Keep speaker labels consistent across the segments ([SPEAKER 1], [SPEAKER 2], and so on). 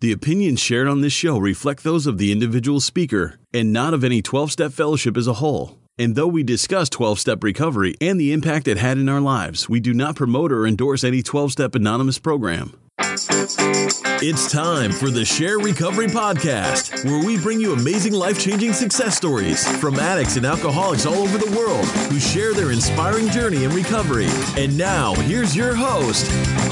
[SPEAKER 1] The opinions shared on this show reflect those of the individual speaker and not of any 12-Step Fellowship as a whole. And though we discuss 12-Step recovery and the impact it had in our lives, we do not promote or endorse any 12-Step Anonymous program. It's time for the Share Recovery Podcast, where we bring you amazing life-changing success stories from addicts and alcoholics all over the world who share their inspiring journey in recovery. And now, here's your host,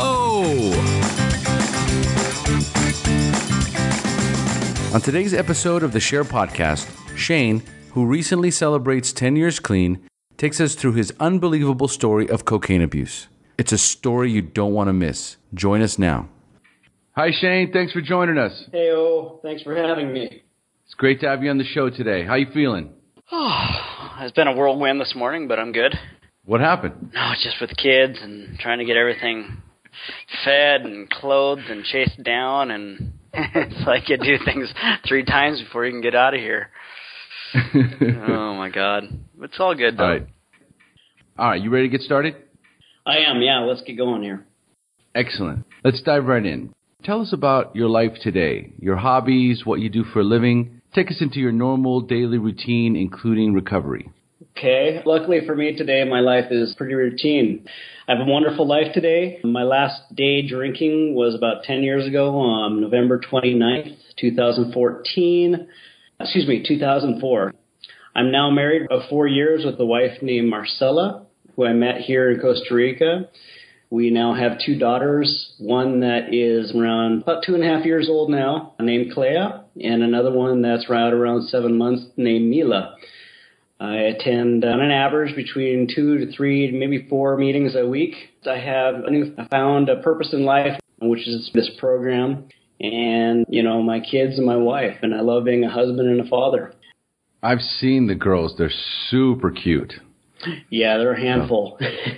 [SPEAKER 2] On today's episode of the Share Podcast, Shane, who recently celebrates 10 years clean, takes us through his unbelievable story of cocaine abuse. It's a story you don't want to miss. Join us now. Hi, Shane. Thanks for joining us.
[SPEAKER 3] Hey, thanks for having me.
[SPEAKER 2] It's great to have you on the show today. How you feeling?
[SPEAKER 3] It's been a whirlwind this morning, but I'm good.
[SPEAKER 2] What happened?
[SPEAKER 3] No, it's just with the kids and trying to get everything fed and clothed and chased down, and it's like you do things 3 times before you can get out of here. Oh, my God. It's all good, though.
[SPEAKER 2] All right. You ready to get started?
[SPEAKER 3] I am, yeah. Let's get going here.
[SPEAKER 2] Excellent. Let's dive right in. Tell us about your life today, your hobbies, what you do for a living. Take us into your normal daily routine, including recovery.
[SPEAKER 3] Okay. Luckily for me today, my life is pretty routine. I have a wonderful life today. My last day drinking was about 10 years ago on November 29th, 2004. I'm now married of 4 years with a wife named Marcella, who I met here in Costa Rica. We now have 2 daughters, one that is around about 2.5 years old now, named Clea, and another one that's right around 7 months, named Mila. I attend on an average between 2 to 3, maybe 4 meetings a week. I found a purpose in life, which is this program, and, my kids and my wife, and I love being a husband and a father.
[SPEAKER 2] I've seen the girls. They're super cute.
[SPEAKER 3] Yeah, they're a handful,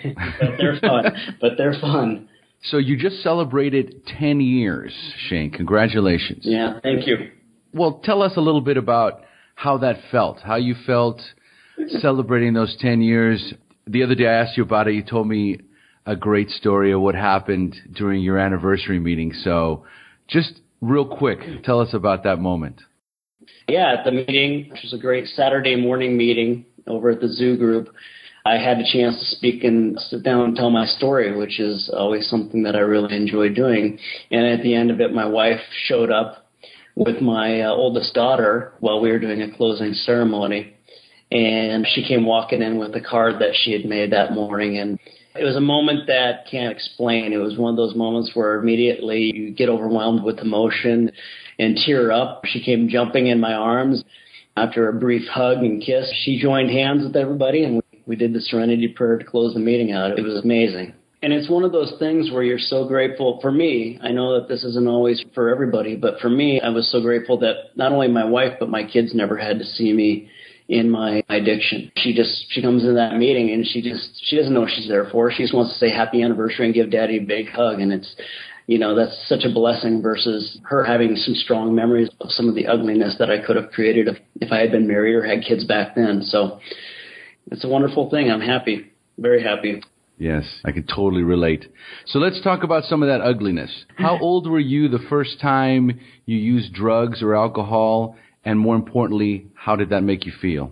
[SPEAKER 3] but they're fun.
[SPEAKER 2] So you just celebrated 10 years, Shane. Congratulations.
[SPEAKER 3] Yeah, thank you.
[SPEAKER 2] Well, tell us a little bit about how that felt, how you felt celebrating those 10 years. The other day I asked you about it. You told me a great story of what happened during your anniversary meeting. So just real quick, tell us about that moment.
[SPEAKER 3] Yeah, at the meeting, which was a great Saturday morning meeting over at the Zoo Group, I had a chance to speak and sit down and tell my story, which is always something that I really enjoy doing. And at the end of it, my wife showed up with my oldest daughter while we were doing a closing ceremony. And she came walking in with a card that she had made that morning. And it was a moment that can't explain. It was one of those moments where immediately you get overwhelmed with emotion and tear up. She came jumping in my arms. After a brief hug and kiss, she joined hands with everybody, and we did the Serenity Prayer to close the meeting out. It was amazing. And it's one of those things where you're so grateful. For me, I know that this isn't always for everybody, but for me, I was so grateful that not only my wife, but my kids never had to see me in my addiction. She comes in that meeting and she doesn't know what she's there for. She just wants to say happy anniversary and give Daddy a big hug. And it's, that's such a blessing versus her having some strong memories of some of the ugliness that I could have created if I had been married or had kids back then. So it's a wonderful thing. I'm happy, very happy.
[SPEAKER 2] Yes, I can totally relate. So let's talk about some of that ugliness. How old were you the first time you used drugs or alcohol? And more importantly, how did that make you feel?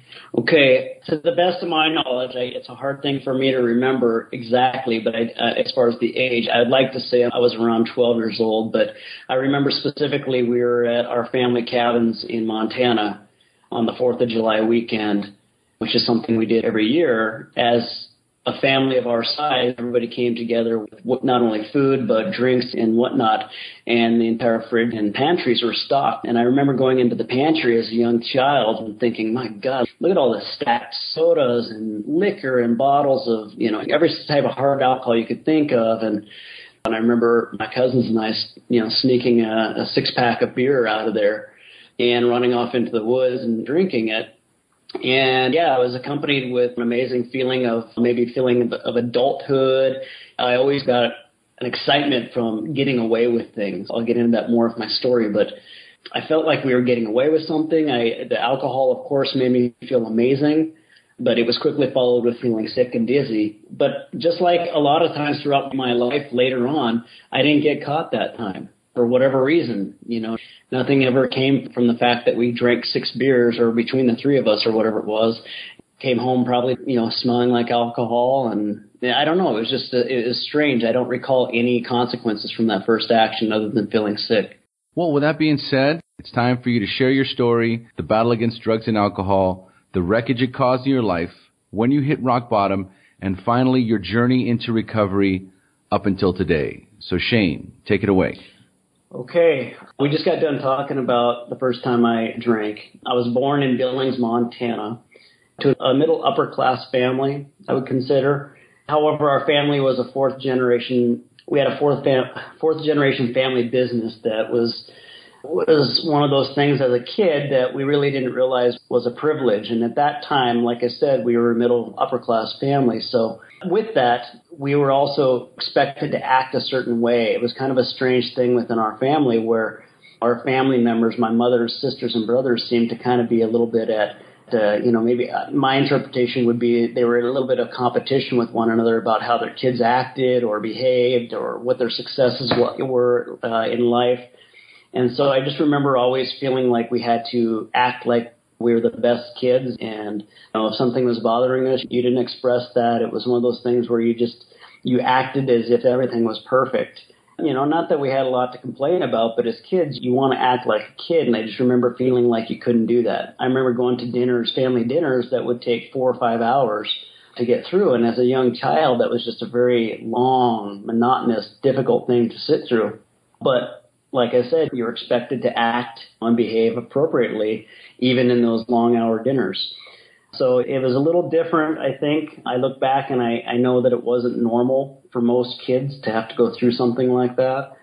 [SPEAKER 3] Okay, to the best of my knowledge, it's a hard thing for me to remember exactly, but as far as the age, I'd like to say I was around 12 years old, but I remember specifically we were at our family cabins in Montana on the 4th of July weekend, which is something we did every year. As a family of our size, everybody came together with not only food, but drinks and whatnot, and the entire fridge and pantries were stocked. And I remember going into the pantry as a young child and thinking, my God, look at all the stacked sodas and liquor and bottles of, every type of hard alcohol you could think of. And I remember my cousins and I, sneaking a 6-pack of beer out of there and running off into the woods and drinking it. And yeah, I was accompanied with an amazing feeling of adulthood. I always got an excitement from getting away with things. I'll get into that more of my story, but I felt like we were getting away with something. The alcohol, of course, made me feel amazing, but it was quickly followed with feeling sick and dizzy. But just like a lot of times throughout my life later on, I didn't get caught that time. for whatever reason. Nothing ever came from the fact that we drank 6 beers or between the 3 of us or whatever it was. Came home probably, smelling like alcohol. And I don't know. It was strange. I don't recall any consequences from that first action other than feeling sick.
[SPEAKER 2] Well, with that being said, it's time for you to share your story, the battle against drugs and alcohol, the wreckage it caused in your life, when you hit rock bottom, and finally your journey into recovery up until today. So Shane, take it away.
[SPEAKER 3] Okay. We just got done talking about the first time I drank. I was born in Billings, Montana, to a middle upper class family, I would consider. However, our family was a fourth generation. We had a fourth generation family business that was one of those things as a kid that we really didn't realize was a privilege. And at that time, like I said, we were a middle upper class family. So with that, we were also expected to act a certain way. It was kind of a strange thing within our family where our family members, my mother's sisters and brothers, seemed to kind of be a little bit at maybe my interpretation would be they were in a little bit of competition with one another about how their kids acted or behaved or what their successes were in life. And so I just remember always feeling like we had to act like we were the best kids. And if something was bothering us, you didn't express that. It was one of those things where you acted as if everything was perfect. Not that we had a lot to complain about, but as kids, you want to act like a kid. And I just remember feeling like you couldn't do that. I remember going to family dinners that would take 4 or 5 hours to get through. And as a young child, that was just a very long, monotonous, difficult thing to sit through. But like I said, you're expected to act and behave appropriately, even in those long hour dinners. So it was a little different, I think. I look back and I know that it wasn't normal for most kids to have to go through something like that.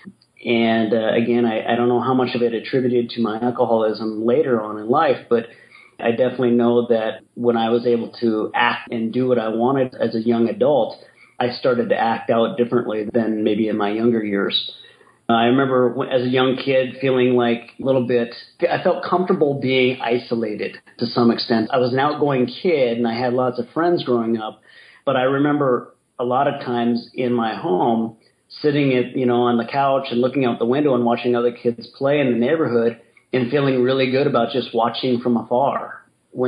[SPEAKER 3] And again, I don't know how much of it attributed to my alcoholism later on in life, but I definitely know that when I was able to act and do what I wanted as a young adult, I started to act out differently than maybe in my younger years. I remember as a young kid feeling like a little bit, I felt comfortable being isolated to some extent. I was an outgoing kid and I had lots of friends growing up, but I remember a lot of times in my home sitting on the couch and looking out the window and watching other kids play in the neighborhood and feeling really good about just watching from afar.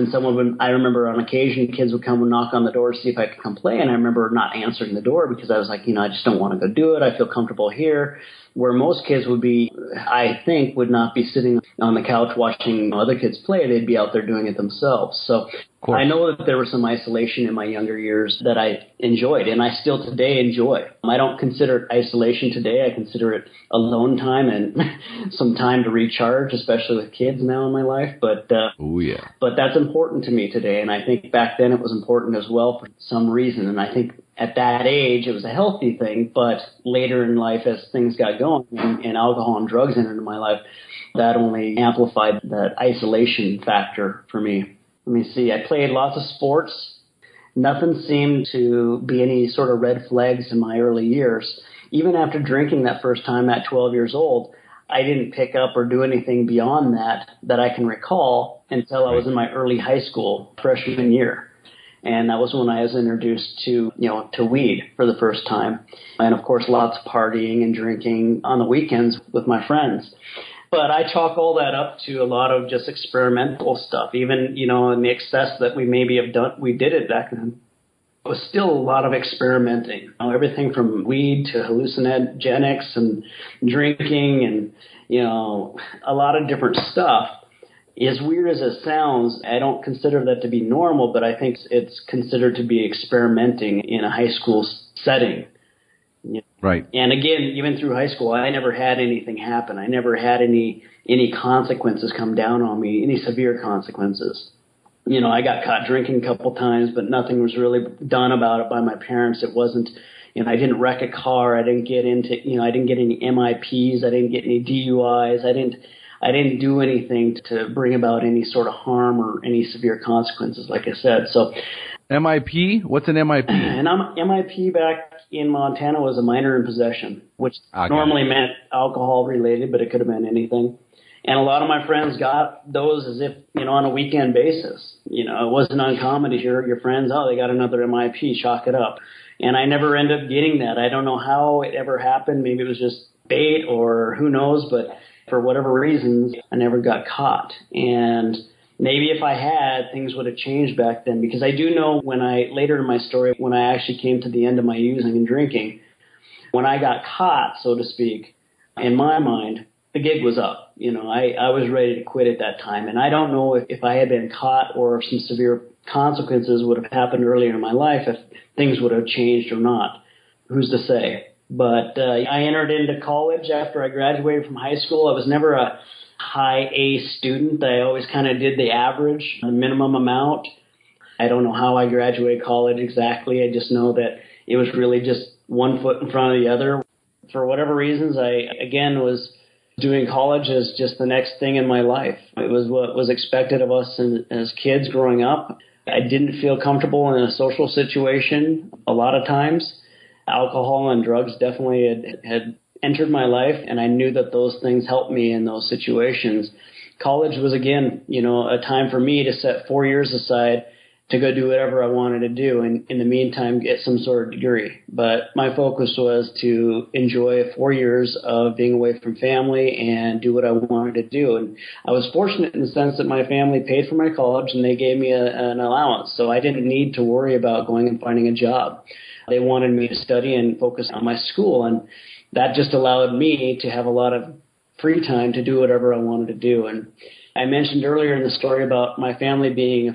[SPEAKER 3] I remember on occasion kids would come and knock on the door to see if I could come play, and I remember not answering the door because I was like, I just don't want to go do it. I feel comfortable here. Where most kids would be, I think, would not be sitting on the couch watching other kids play. They'd be out there doing it themselves. So I know that there was some isolation in my younger years that I enjoyed, and I still today enjoy. I don't consider it isolation today. I consider it alone time and some time to recharge, especially with kids now in my life. But but that's important to me today, and I think back then it was important as well for some reason. And I think at that age it was a healthy thing, but later in life as things got going and alcohol and drugs entered into my life, that only amplified that isolation factor for me. Let me see. I played lots of sports. Nothing seemed to be any sort of red flags in my early years. Even after drinking that first time at 12 years old, I didn't pick up or do anything beyond that I can recall until I was in my early high school freshman year. And that was when I was introduced to weed for the first time. And of course, lots of partying and drinking on the weekends with my friends. But I chalk all that up to a lot of just experimental stuff. Even, in the excess that we maybe have done, we did it back then. It was still a lot of experimenting. Everything from weed to hallucinogenics and drinking and, a lot of different stuff. As weird as it sounds, I don't consider that to be normal, but I think it's considered to be experimenting in a high school setting.
[SPEAKER 2] Right.
[SPEAKER 3] And again, even through high school, I never had anything happen. I never had any consequences come down on me, any severe consequences. I got caught drinking a couple times, but nothing was really done about it by my parents. It wasn't, I didn't wreck a car. I didn't get I didn't get any MIPs. I didn't get any DUIs. I didn't do anything to bring about any sort of harm or any severe consequences, like I said. So,
[SPEAKER 2] MIP? What's an MIP?
[SPEAKER 3] An MIP back in Montana was a minor in possession, which normally meant alcohol related, but it could have been anything. And a lot of my friends got those as if, on a weekend basis. It wasn't uncommon to hear your friends, they got another MIP, chalk it up. And I never ended up getting that. I don't know how it ever happened. Maybe it was just bait or who knows, but for whatever reasons, I never got caught. And maybe if I had, things would have changed back then, because I do know later in my story, when I actually came to the end of my using and drinking, when I got caught, so to speak, in my mind, the gig was up. I was ready to quit at that time. And I don't know if I had been caught or if some severe consequences would have happened earlier in my life, if things would have changed or not. Who's to say? But I entered into college after I graduated from high school. I was never a high A student. I always kind of did the average, the minimum amount. I don't know how I graduated college exactly. I just know that it was really just one foot in front of the other. For whatever reasons, I, again, was doing college as just the next thing in my life. It was what was expected of us as kids growing up. I didn't feel comfortable in a social situation a lot of times. Alcohol and drugs definitely had entered my life, and I knew that those things helped me in those situations. College was, again, a time for me to set 4 years aside to go do whatever I wanted to do, and in the meantime get some sort of degree. But my focus was to enjoy 4 years of being away from family and do what I wanted to do. And I was fortunate in the sense that my family paid for my college and they gave me an allowance, so I didn't need to worry about going and finding a job. They wanted me to study and focus on my school, and that just allowed me to have a lot of free time to do whatever I wanted to do. And I mentioned earlier in the story about my family being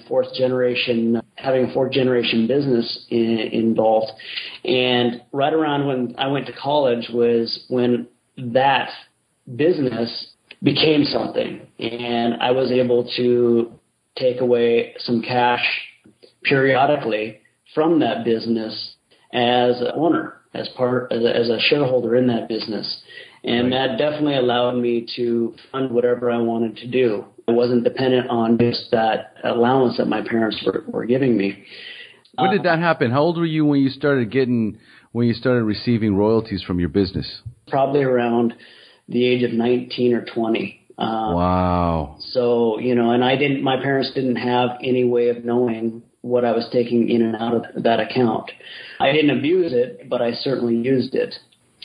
[SPEAKER 3] having a fourth generation business involved. And right around when I went to college was when that business became something. And I was able to take away some cash periodically from that business as an owner, as a shareholder in that business. And that definitely allowed me to fund whatever I wanted to do. I wasn't dependent on just that allowance that my parents were giving me.
[SPEAKER 2] When did that happen? How old were you when you started receiving royalties from your business?
[SPEAKER 3] Probably around the age of 19 or 20.
[SPEAKER 2] Wow.
[SPEAKER 3] So, and my parents didn't have any way of knowing what I was taking in and out of that account. I didn't abuse it, but I certainly used it.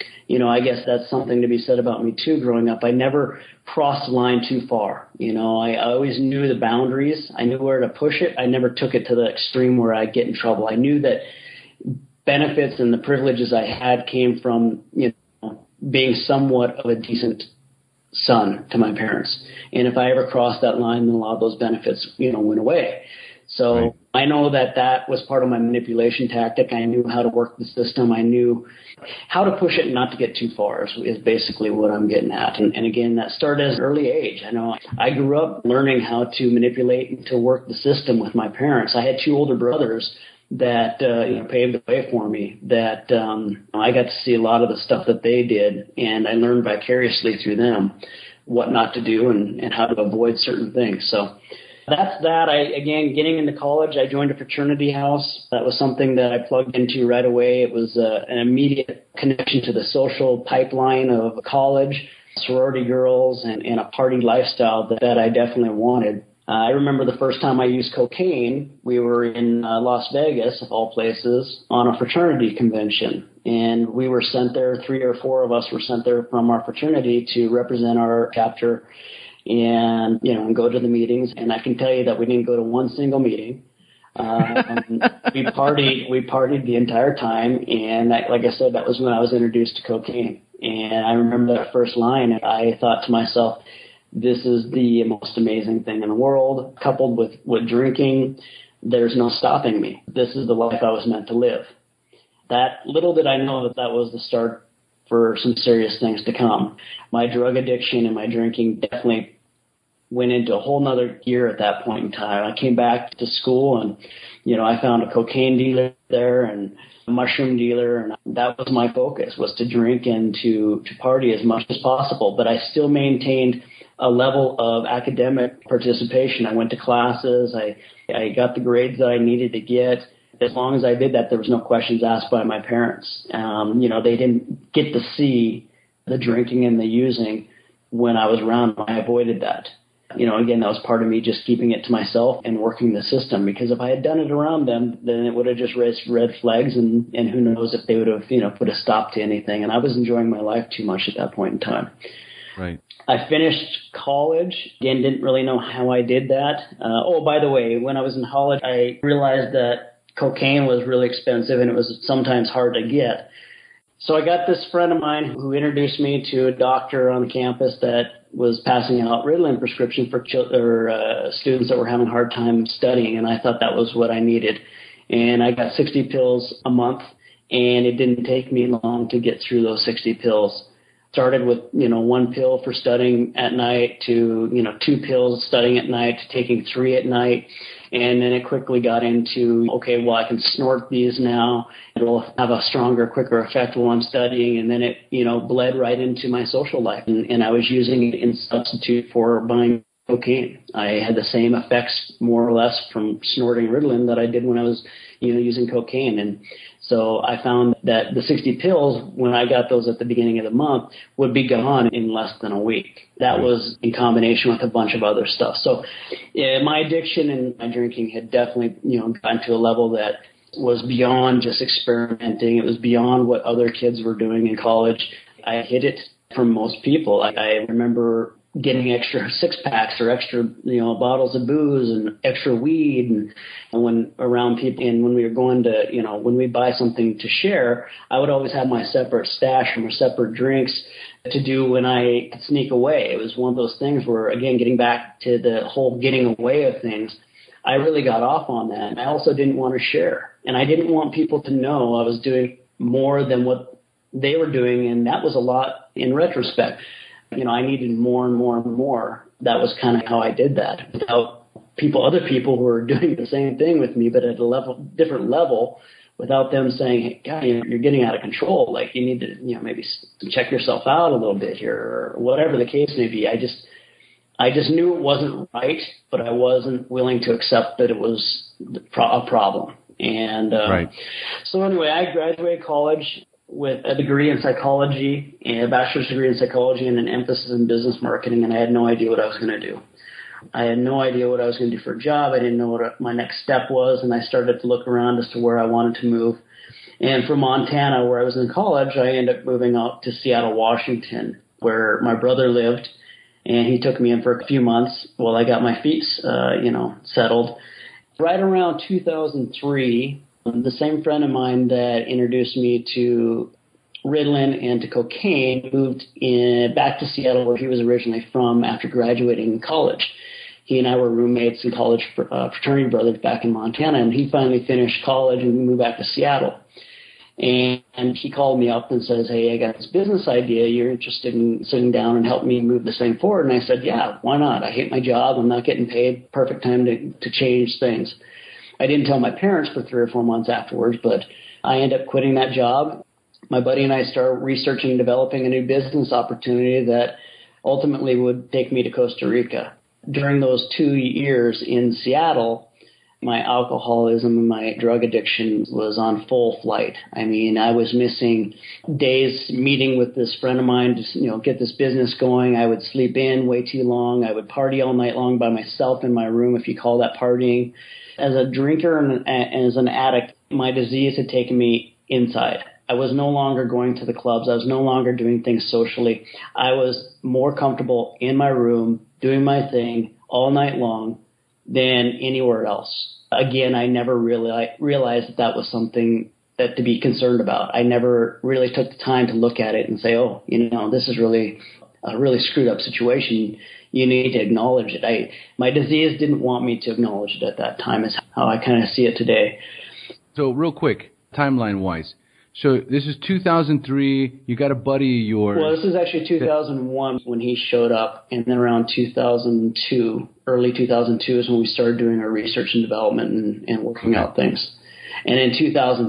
[SPEAKER 3] I guess that's something to be said about me too growing up. I never crossed the line too far. I always knew the boundaries. I knew where to push it. I never took it to the extreme where I'd get in trouble. I knew that benefits and the privileges I had came from, being somewhat of a decent son to my parents. And if I ever crossed that line, then a lot of those benefits, went away. So right. I know that was part of my manipulation tactic. I knew how to work the system. I knew how to push it and not to get too far is basically what I'm getting at. And again, that started at an early age. I know I grew up learning how to manipulate and to work the system with my parents. I had two older brothers that paved the way for me, that I got to see a lot of the stuff that they did, and I learned vicariously through them what not to do and how to avoid certain things. So that's that. Getting into college, I joined a fraternity house. That was something that I plugged into right away. It was an immediate connection to the social pipeline of college, sorority girls, and a party lifestyle that I definitely wanted. I remember the first time I used cocaine, we were in Las Vegas, of all places, on a fraternity convention. And we were sent there, 3 or 4 of us were sent there from our fraternity to represent our chapter and go to the meetings. And I can tell you that we didn't go to one single meeting. We partied the entire time. And like I said, that was when I was introduced to cocaine. And I remember that first line, and I thought to myself, this is the most amazing thing in the world. Coupled with drinking, there's no stopping me. This is the life I was meant to live. That little did I know that was the start for some serious things to come. My drug addiction and my drinking definitely went into a whole nother gear at that point in time. I came back to school and, I found a cocaine dealer there and a mushroom dealer, and that was my focus, was to drink and to party as much as possible. But I still maintained a level of academic participation. I went to classes. I got the grades that I needed to get. As long as I did that, there was no questions asked by my parents. They didn't get to see the drinking and the using when I was around. I avoided that. Again, that was part of me just keeping it to myself and working the system, because if I had done it around them, then it would have just raised red flags, and who knows if they would have, put a stop to anything. And I was enjoying my life too much at that point in time.
[SPEAKER 2] Right.
[SPEAKER 3] I finished college. Again, didn't really know how I did that. By the way, when I was in college, I realized that cocaine was really expensive and it was sometimes hard to get. So I got this friend of mine who introduced me to a doctor on campus that was passing out Ritalin prescription for students that were having a hard time studying, and I thought that was what I needed. And I got 60 pills a month, and it didn't take me long to get through those 60 pills. Started with, 1 pill for studying at night to, 2 pills studying at night to taking 3 at night. And then it quickly got into, okay, well, I can snort these now. It'll have a stronger, quicker effect while I'm studying. And then it, bled right into my social life. And I was using it in substitute for buying cocaine. I had the same effects, more or less, from snorting Ritalin that I did when I was, using cocaine. And so I found that the 60 pills, when I got those at the beginning of the month, would be gone in less than a week. That was in combination with a bunch of other stuff. So my addiction and my drinking had definitely, gotten to a level that was beyond just experimenting. It was beyond what other kids were doing in college. I hid it from most people. I remember getting extra 6-packs or extra, bottles of booze and extra weed, and when around people, and when we were going to, when we buy something to share, I would always have my separate stash or my separate drinks to do when I could sneak away. It was one of those things where, again, getting back to the whole getting away of things, I really got off on that. And I also didn't want to share, and I didn't want people to know I was doing more than what they were doing, and that was a lot in retrospect. I needed more and more and more. That was kind of how I did that. Without other people who were doing the same thing with me, but at a different level, without them saying, "Hey, God, you're getting out of control. Like, you need to, maybe check yourself out a little bit here," or whatever the case may be. I just knew it wasn't right, but I wasn't willing to accept that it was a problem. And
[SPEAKER 2] right.
[SPEAKER 3] So anyway, I graduated college with a degree in psychology, a bachelor's degree in psychology, and an emphasis in business marketing, and I had no idea what I was going to do. I had no idea what I was going to do for a job. I didn't know what my next step was, and I started to look around as to where I wanted to move. And from Montana, where I was in college, I ended up moving out to Seattle, Washington, where my brother lived, and he took me in for a few months while I got my feet, settled. Right around 2003, the same friend of mine that introduced me to Ritalin and to cocaine moved back to Seattle, where he was originally from, after graduating college. He and I were roommates and college fraternity brothers back in Montana, and he finally finished college and moved back to Seattle. And he called me up and says, "Hey, I got this business idea. You're interested in sitting down and help me move this thing forward?" And I said, "Yeah, why not? I hate my job. I'm not getting paid. Perfect time to change things." I didn't tell my parents for 3 or 4 months afterwards, but I ended up quitting that job. My buddy and I started researching and developing a new business opportunity that ultimately would take me to Costa Rica. During those 2 years in Seattle, my alcoholism and my drug addiction was on full flight. I mean, I was missing days meeting with this friend of mine to, get this business going. I would sleep in way too long. I would party all night long by myself in my room, if you call that partying. As a drinker and as an addict, my disease had taken me inside. I was no longer going to the clubs. I was no longer doing things socially. I was more comfortable in my room doing my thing all night long than anywhere else. Again, I never really realized that was something that to be concerned about. I never really took the time to look at it and say, "Oh, this is really a really screwed up situation. You need to acknowledge it." My disease didn't want me to acknowledge it at that time, is how I kind of see it today.
[SPEAKER 2] So real quick, timeline-wise. So this is 2003. You got a buddy of yours.
[SPEAKER 3] Well, this is actually 2001 when he showed up, and then around 2002, early 2002 is when we started doing our research and development and working out things. And in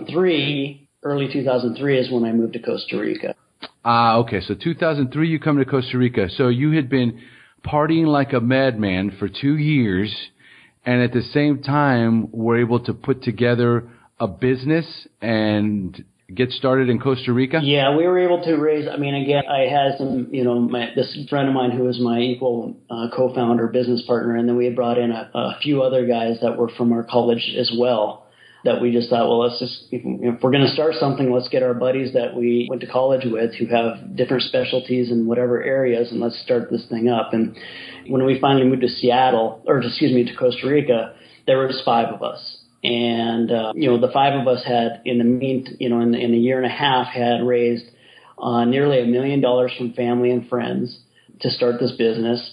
[SPEAKER 3] 2003, early 2003 is when I moved to Costa Rica.
[SPEAKER 2] Okay. So 2003, you come to Costa Rica. So you had been partying like a madman for 2 years, and at the same time were able to put together a business and get started in Costa Rica?
[SPEAKER 3] Yeah, we were able to raise, again, I had some, this friend of mine who was my equal co-founder, business partner, and then we had brought in a few other guys that were from our college as well, that we just thought, well, let's just, if we're going to start something, let's get our buddies that we went to college with who have different specialties in whatever areas, and let's start this thing up. And when we finally moved to to Costa Rica, there was 5 of us. And, the 5 of us had in a year and a half had raised nearly $1 million from family and friends to start this business.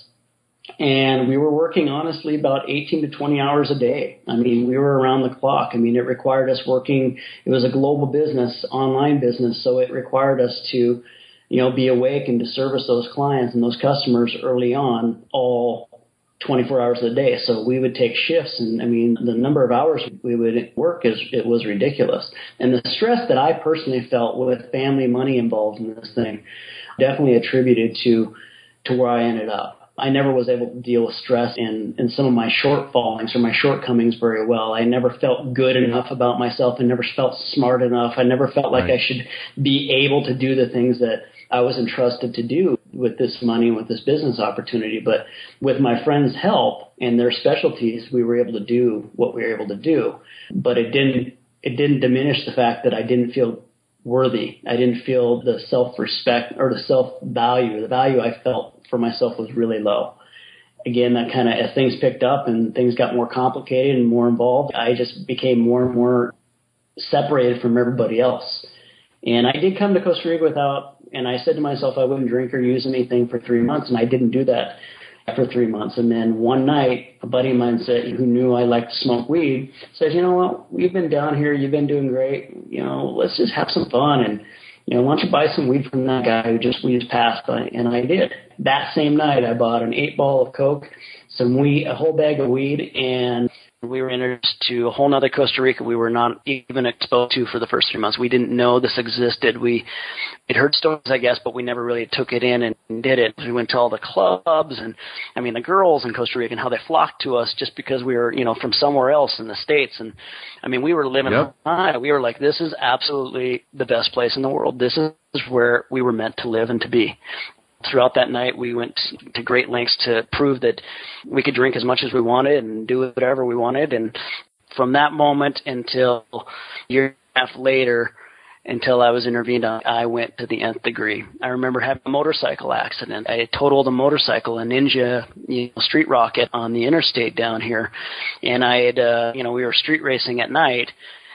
[SPEAKER 3] And we were working, honestly, about 18 to 20 hours a day. We were around the clock. It required us working. It was a global business, online business, so it required us to, be awake and to service those clients and those customers early on, all 24 hours a day. So we would take shifts, and the number of hours we would work it was ridiculous. And the stress that I personally felt with family money involved in this thing definitely attributed to where I ended up. I never was able to deal with stress and some of my shortfallings or my shortcomings very well. I never felt good enough about myself. I never felt smart enough. I never felt like I should be able to do the things that I was entrusted to do with this money and with this business opportunity. But with my friends' help and their specialties, we were able to do what we were able to do. But it didn't diminish the fact that I didn't feel worthy. I didn't feel the self-respect or the self-value. The value I felt for myself was really low. Again, that kind of, as things picked up and things got more complicated and more involved, I just became more and more separated from everybody else. And I did come to Costa Rica and I said to myself I wouldn't drink or use anything for 3 months, and I didn't do that for 3 months. And then one night, a buddy of mine who knew I liked to smoke weed, said, you know what, we've been down here, you've been doing great, let's just have some fun, and why don't you buy some weed from that guy we just passed by? And I did. That same night, I bought an 8-ball of Coke, some weed, a whole bag of weed, and we were introduced to a whole nother Costa Rica we were not even exposed to for the first 3 months. We didn't know this existed. We'd heard stories, I guess, but we never really took it in and did it. We went to all the clubs and, the girls in Costa Rica and how they flocked to us just because we were, from somewhere else in the States. And, we were living high. We were like, this is absolutely the best place in the world. This is where we were meant to live and to be. Throughout that night, we went to great lengths to prove that we could drink as much as we wanted and do whatever we wanted. And from that moment until a year and a half later, until I was intervened on, I went to the nth degree. I remember having a motorcycle accident. I totaled a motorcycle, a Ninja street rocket on the interstate down here. And I had, we were street racing at night.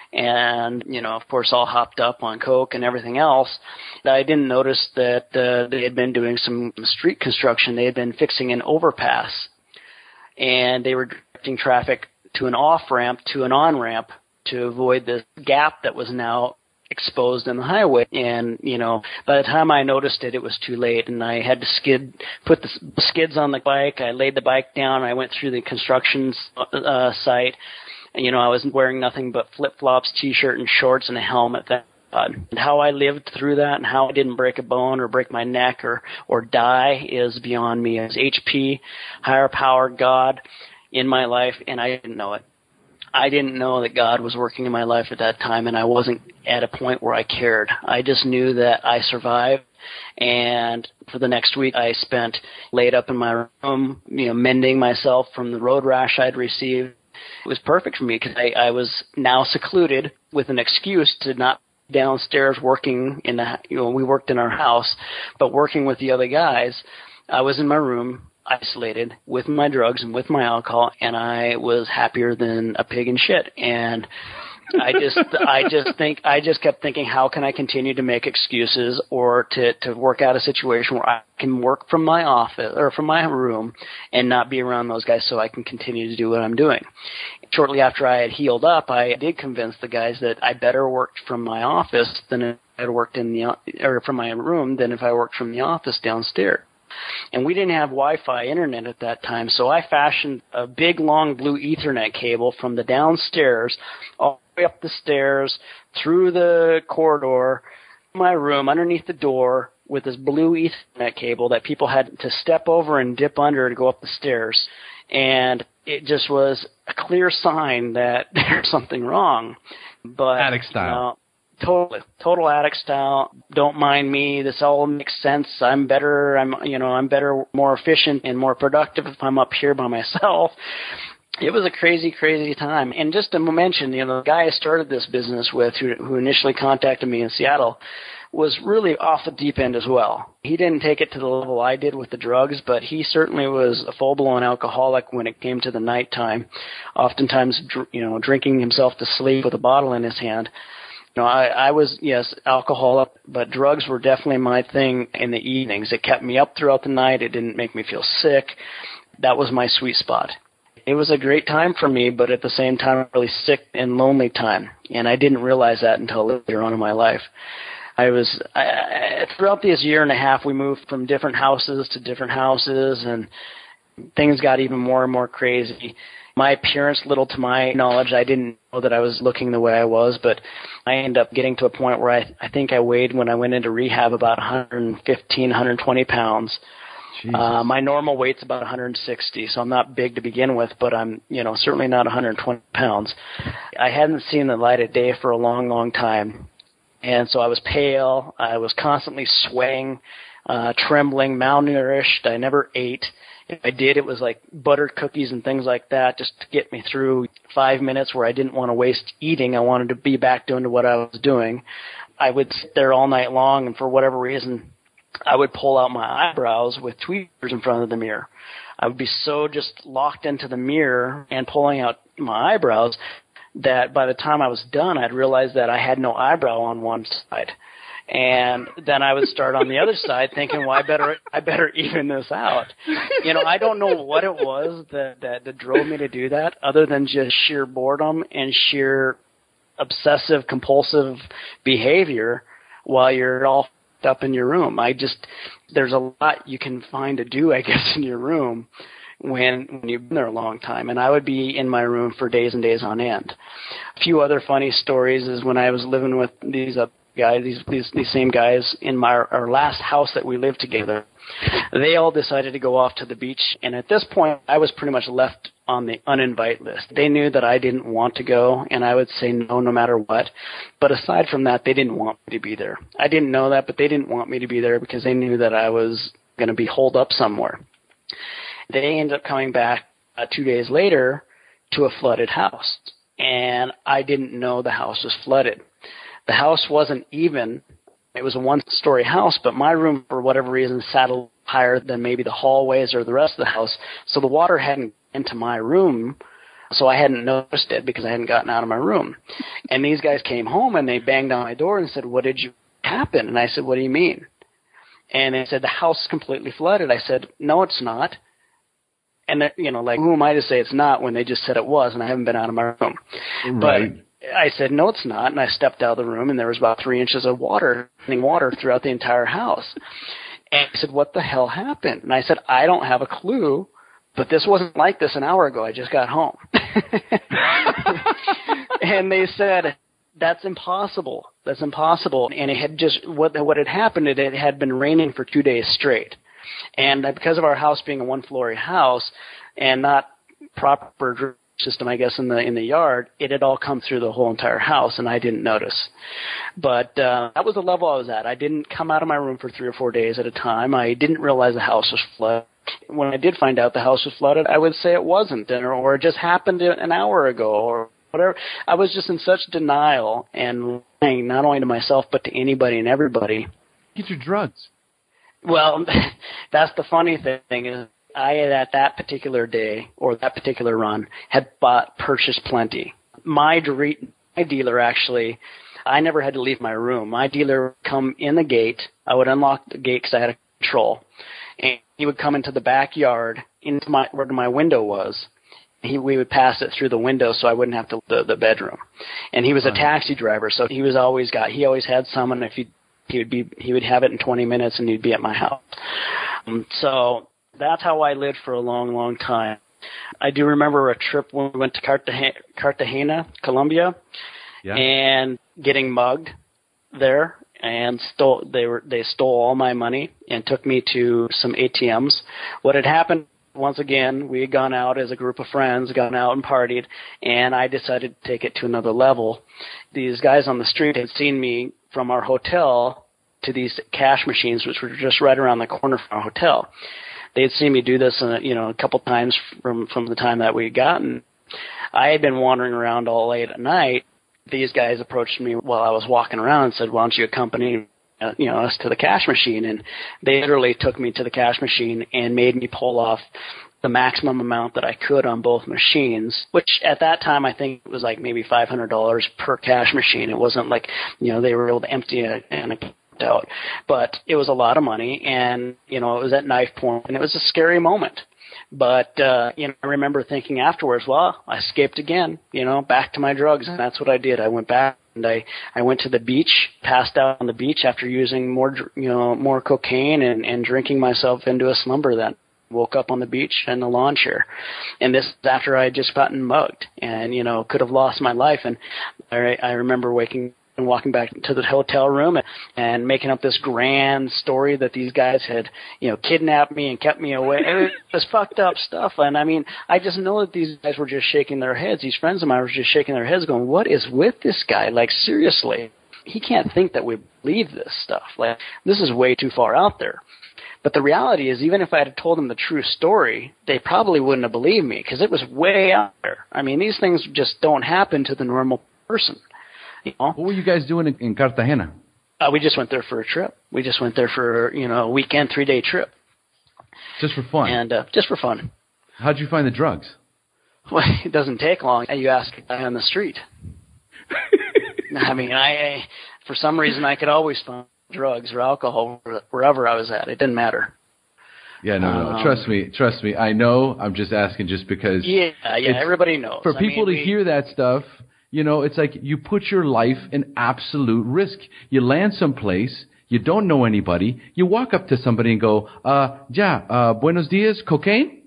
[SPEAKER 3] And, of course, all hopped up on Coke and everything else. I didn't notice that they had been doing some street construction. They had been fixing an overpass. And they were directing traffic to an off-ramp to an on-ramp to avoid the gap that was now exposed in the highway. And, by the time I noticed it, it was too late. And I had to put the skids on the bike. I laid the bike down. I went through the construction site. I was wearing nothing but flip-flops, T-shirt, and shorts, and a helmet. And how I lived through that and how I didn't break a bone or break my neck or die is beyond me. As HP, higher power, God in my life, and I didn't know it. I didn't know that God was working in my life at that time, and I wasn't at a point where I cared. I just knew that I survived. And for the next week, I spent laid up in my room, mending myself from the road rash I'd received. It was perfect for me because I was now secluded with an excuse to not be downstairs working we worked in our house, but working with the other guys. I was in my room, isolated, with my drugs and with my alcohol, and I was happier than a pig in shit. And I just kept thinking, how can I continue to make excuses or to work out a situation where I can work from my office or from my room and not be around those guys so I can continue to do what I'm doing. Shortly after I had healed up, I did convince the guys that I better worked from my office than if I had worked from my room than if I worked from the office downstairs. And we didn't have Wi-Fi internet at that time, so I fashioned a big, long blue Ethernet cable from the downstairs all the way up the stairs, through the corridor, my room, underneath the door, with this blue Ethernet cable that people had to step over and dip under to go up the stairs. And it just was a clear sign that there's something wrong. But
[SPEAKER 4] Addict style. Totally. Total addict style. Don't mind me. This all makes sense. I'm better. I'm better, more efficient and more productive if I'm up here by myself. It was a crazy, crazy time. And just to mention, the guy I started this business with who initially contacted me in Seattle was really off the deep end as well. He didn't take it to the level I did with the drugs, but he certainly was a full-blown alcoholic when it came to the nighttime, oftentimes, drinking himself to sleep with a bottle in his hand. I was, yes, alcoholic, but drugs were definitely my thing in the evenings. It kept me up throughout the night. It didn't make me feel sick. That was my sweet spot. It was a great time for me, but at the same time, a really sick and lonely time, and I didn't realize that until later on in my life. Throughout this year and a half, we moved from different houses to different houses, and things got even more and more crazy. My appearance, little to my knowledge, I didn't know that I was looking the way I was, but I ended up getting to a point where I think I weighed, when I went into rehab, about 115, 120 pounds. My normal weight's about 160, so I'm not big to begin with, but I'm, certainly not 120 pounds. I hadn't seen the light of day for a long, long time. And so I was pale. I was constantly sweating, trembling, malnourished. I never ate. If I did, it was like buttered cookies and things like that just to get me through 5 minutes where I didn't want to waste eating. I wanted to be back doing what I was doing. I would sit there all night long, and for whatever reason, I would pull out my eyebrows with tweezers in front of the mirror. I would be so just locked into the mirror and pulling out my eyebrows that by the time I was done, I'd realized that I had no eyebrow on one side. And then I would start on the other side thinking, well, I better even this out. I don't know what it was that drove me to do that, other than just sheer boredom and sheer obsessive compulsive behavior while you're all up in your room. There's a lot you can find to do, I guess, in your room when you've been there a long time. And I would be in my room for days and days on end. A few other funny stories is when I was living with these guys, these same guys in our last house that we lived together. They all decided to go off to the beach, and at this point, I was pretty much left on the uninvite list. They knew that I didn't want to go, and I would say no matter what. But aside from that, they didn't want me to be there. I didn't know that, but they didn't want me to be there because they knew that I was going to be holed up somewhere. They ended up coming back 2 days later to a flooded house, and I didn't know the house was flooded. The house wasn't even. It was a one-story house, but my room, for whatever reason, sat a little higher than maybe the hallways or the rest of the house. So the water hadn't into my room, so I hadn't noticed it because I hadn't gotten out of my room. And these guys came home, and they banged on my door and said, "What did you happen?" And I said, "What do you mean?" And they said, "The house is completely flooded." I said, "No, it's not." And, who am I to say it's not when they just said it was, and I haven't been out of my room?
[SPEAKER 2] Right.
[SPEAKER 4] But I said, "No, it's not." And I stepped out of the room, and there was about 3 inches of water throughout the entire house. And he said, "What the hell happened?" And I said, "I don't have a clue, but this wasn't like this an hour ago. I just got home." And they said, "That's impossible. That's impossible." And it had just, what had happened, it had been raining for 2 days straight. And because of our house being a one-floor house and not proper drainage system, I guess, in the yard, it had all come through the whole entire house, and I didn't notice. But that was the level I was at. I didn't come out of my room for 3 or 4 days at a time. I didn't realize the house was flooded. When I did find out the house was flooded, I would say it wasn't, or it just happened an hour ago, or whatever. I was just in such denial and lying, not only to myself but to anybody and everybody.
[SPEAKER 2] Get your drugs.
[SPEAKER 4] Well, that's the funny thing is I, at that particular day or that particular run, had purchased plenty. My dealer, actually, I never had to leave my room. My dealer would come in the gate. I would unlock the gate because I had a control. And he would come into the backyard into where my window was. We would pass it through the window so I wouldn't have to the bedroom. And he was a taxi driver, so he always had some, and if he would have it in 20 minutes, and he'd be at my house. So that's how I lived for a long, long time. I do remember a trip when we went to Cartagena, Colombia, and getting mugged there, and they stole all my money and took me to some ATMs. What had happened once again, we had gone out as a group of friends, gone out and partied, and I decided to take it to another level. These guys on the street had seen me from our hotel to these cash machines, which were just right around the corner from our hotel. They had seen me do this, a couple times from the time that we had gotten. I had been wandering around all late at night. These guys approached me while I was walking around and said, "Why don't you accompany us to the cash machine?" And they literally took me to the cash machine and made me pull off the maximum amount that I could on both machines, which at that time I think it was like maybe $500 per cash machine. It wasn't like, they were able to empty an account out, but it was a lot of money, and, it was at knife point, and it was a scary moment. But, I remember thinking afterwards, well, I escaped again, back to my drugs, and that's what I did. I went back. And I went to the beach, passed out on the beach after using more cocaine and drinking myself into a slumber. Then woke up on the beach in a lawn chair, and this is after I had just gotten mugged and could have lost my life. And I remember waking and walking back to the hotel room and making up this grand story that these guys had, kidnapped me and kept me away. It was fucked up stuff. And I mean, I just know that these guys were just shaking their heads. These friends of mine were just shaking their heads going, what is with this guy? Like, seriously, he can't think that we believe this stuff. Like, this is way too far out there. But the reality is, even if I had told them the true story, they probably wouldn't have believed me because it was way out there. I mean, these things just don't happen to the normal person.
[SPEAKER 2] What were you guys doing in Cartagena?
[SPEAKER 4] We just went there for a trip. We just went there for, a weekend, 3-day trip.
[SPEAKER 2] Just for fun?
[SPEAKER 4] And just for fun.
[SPEAKER 2] How'd you find the drugs?
[SPEAKER 4] Well, it doesn't take long. You ask a guy on the street. I mean, I for some reason, I could always find drugs or alcohol wherever I was at. It didn't matter.
[SPEAKER 2] Yeah, no. Trust me. I know. I'm just asking just because.
[SPEAKER 4] Yeah, everybody knows.
[SPEAKER 2] For people to hear that stuff, it's like you put your life in absolute risk. You land someplace, you don't know anybody, you walk up to somebody and go, buenos dias, cocaine?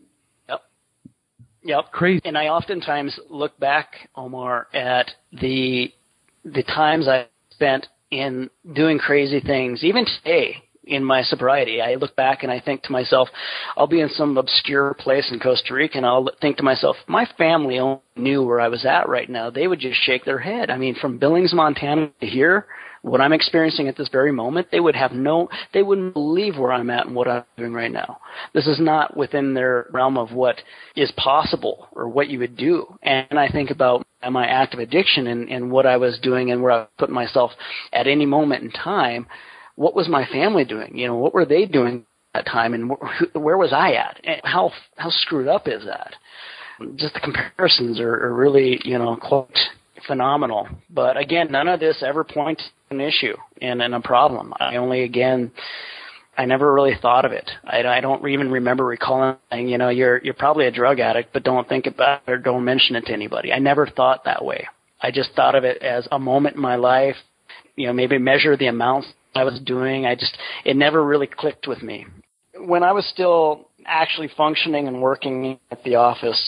[SPEAKER 4] Yep.
[SPEAKER 2] Crazy.
[SPEAKER 4] And I oftentimes look back, Omar, at the times I spent in doing crazy things, even today. In my sobriety, I look back and I think to myself, I'll be in some obscure place in Costa Rica and I'll think to myself, my family only knew where I was at right now. They would just shake their head. I mean, from Billings, Montana to here, what I'm experiencing at this very moment, they wouldn't believe where I'm at and what I'm doing right now. This is not within their realm of what is possible or what you would do. And I think about my active addiction and what I was doing and where I put myself at any moment in time. What was my family doing? What were they doing at that time, and where was I at? And how screwed up is that? Just the comparisons are really, quite phenomenal. But again, none of this ever points to an issue and a problem. I never really thought of it. I don't even remember recalling saying, you're probably a drug addict, but don't think about it or don't mention it to anybody. I never thought that way. I just thought of it as a moment in my life, maybe measure the amounts I was doing. It never really clicked with me. When I was still actually functioning and working at the office,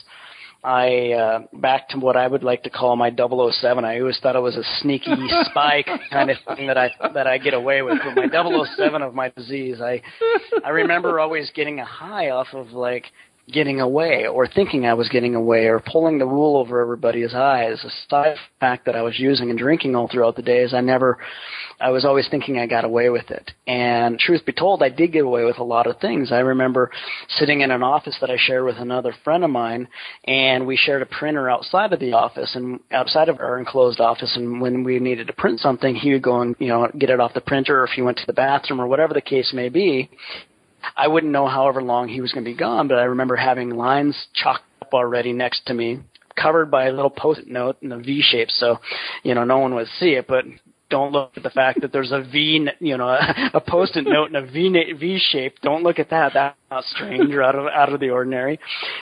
[SPEAKER 4] back to what I would like to call my 007. I always thought it was a sneaky spy kind of thing that I get away with. But my 007 of my disease, I remember always getting a high off of like getting away or thinking I was getting away or pulling the wool over everybody's eyes. Aside from the fact that I was using and drinking all throughout the days, I was always thinking I got away with it. And truth be told, I did get away with a lot of things. I remember sitting in an office that I shared with another friend of mine, and we shared a printer outside of the office and outside of our enclosed office. And when we needed to print something, he would go and, get it off the printer, or if he went to the bathroom or whatever the case may be. I wouldn't know however long he was going to be gone, but I remember having lines chalked up already next to me, covered by a little Post-it note in a V shape, so, no one would see it, but don't look at the fact that there's a V, a Post-it note in a V shape. Don't look at that. That's not strange or out of the ordinary.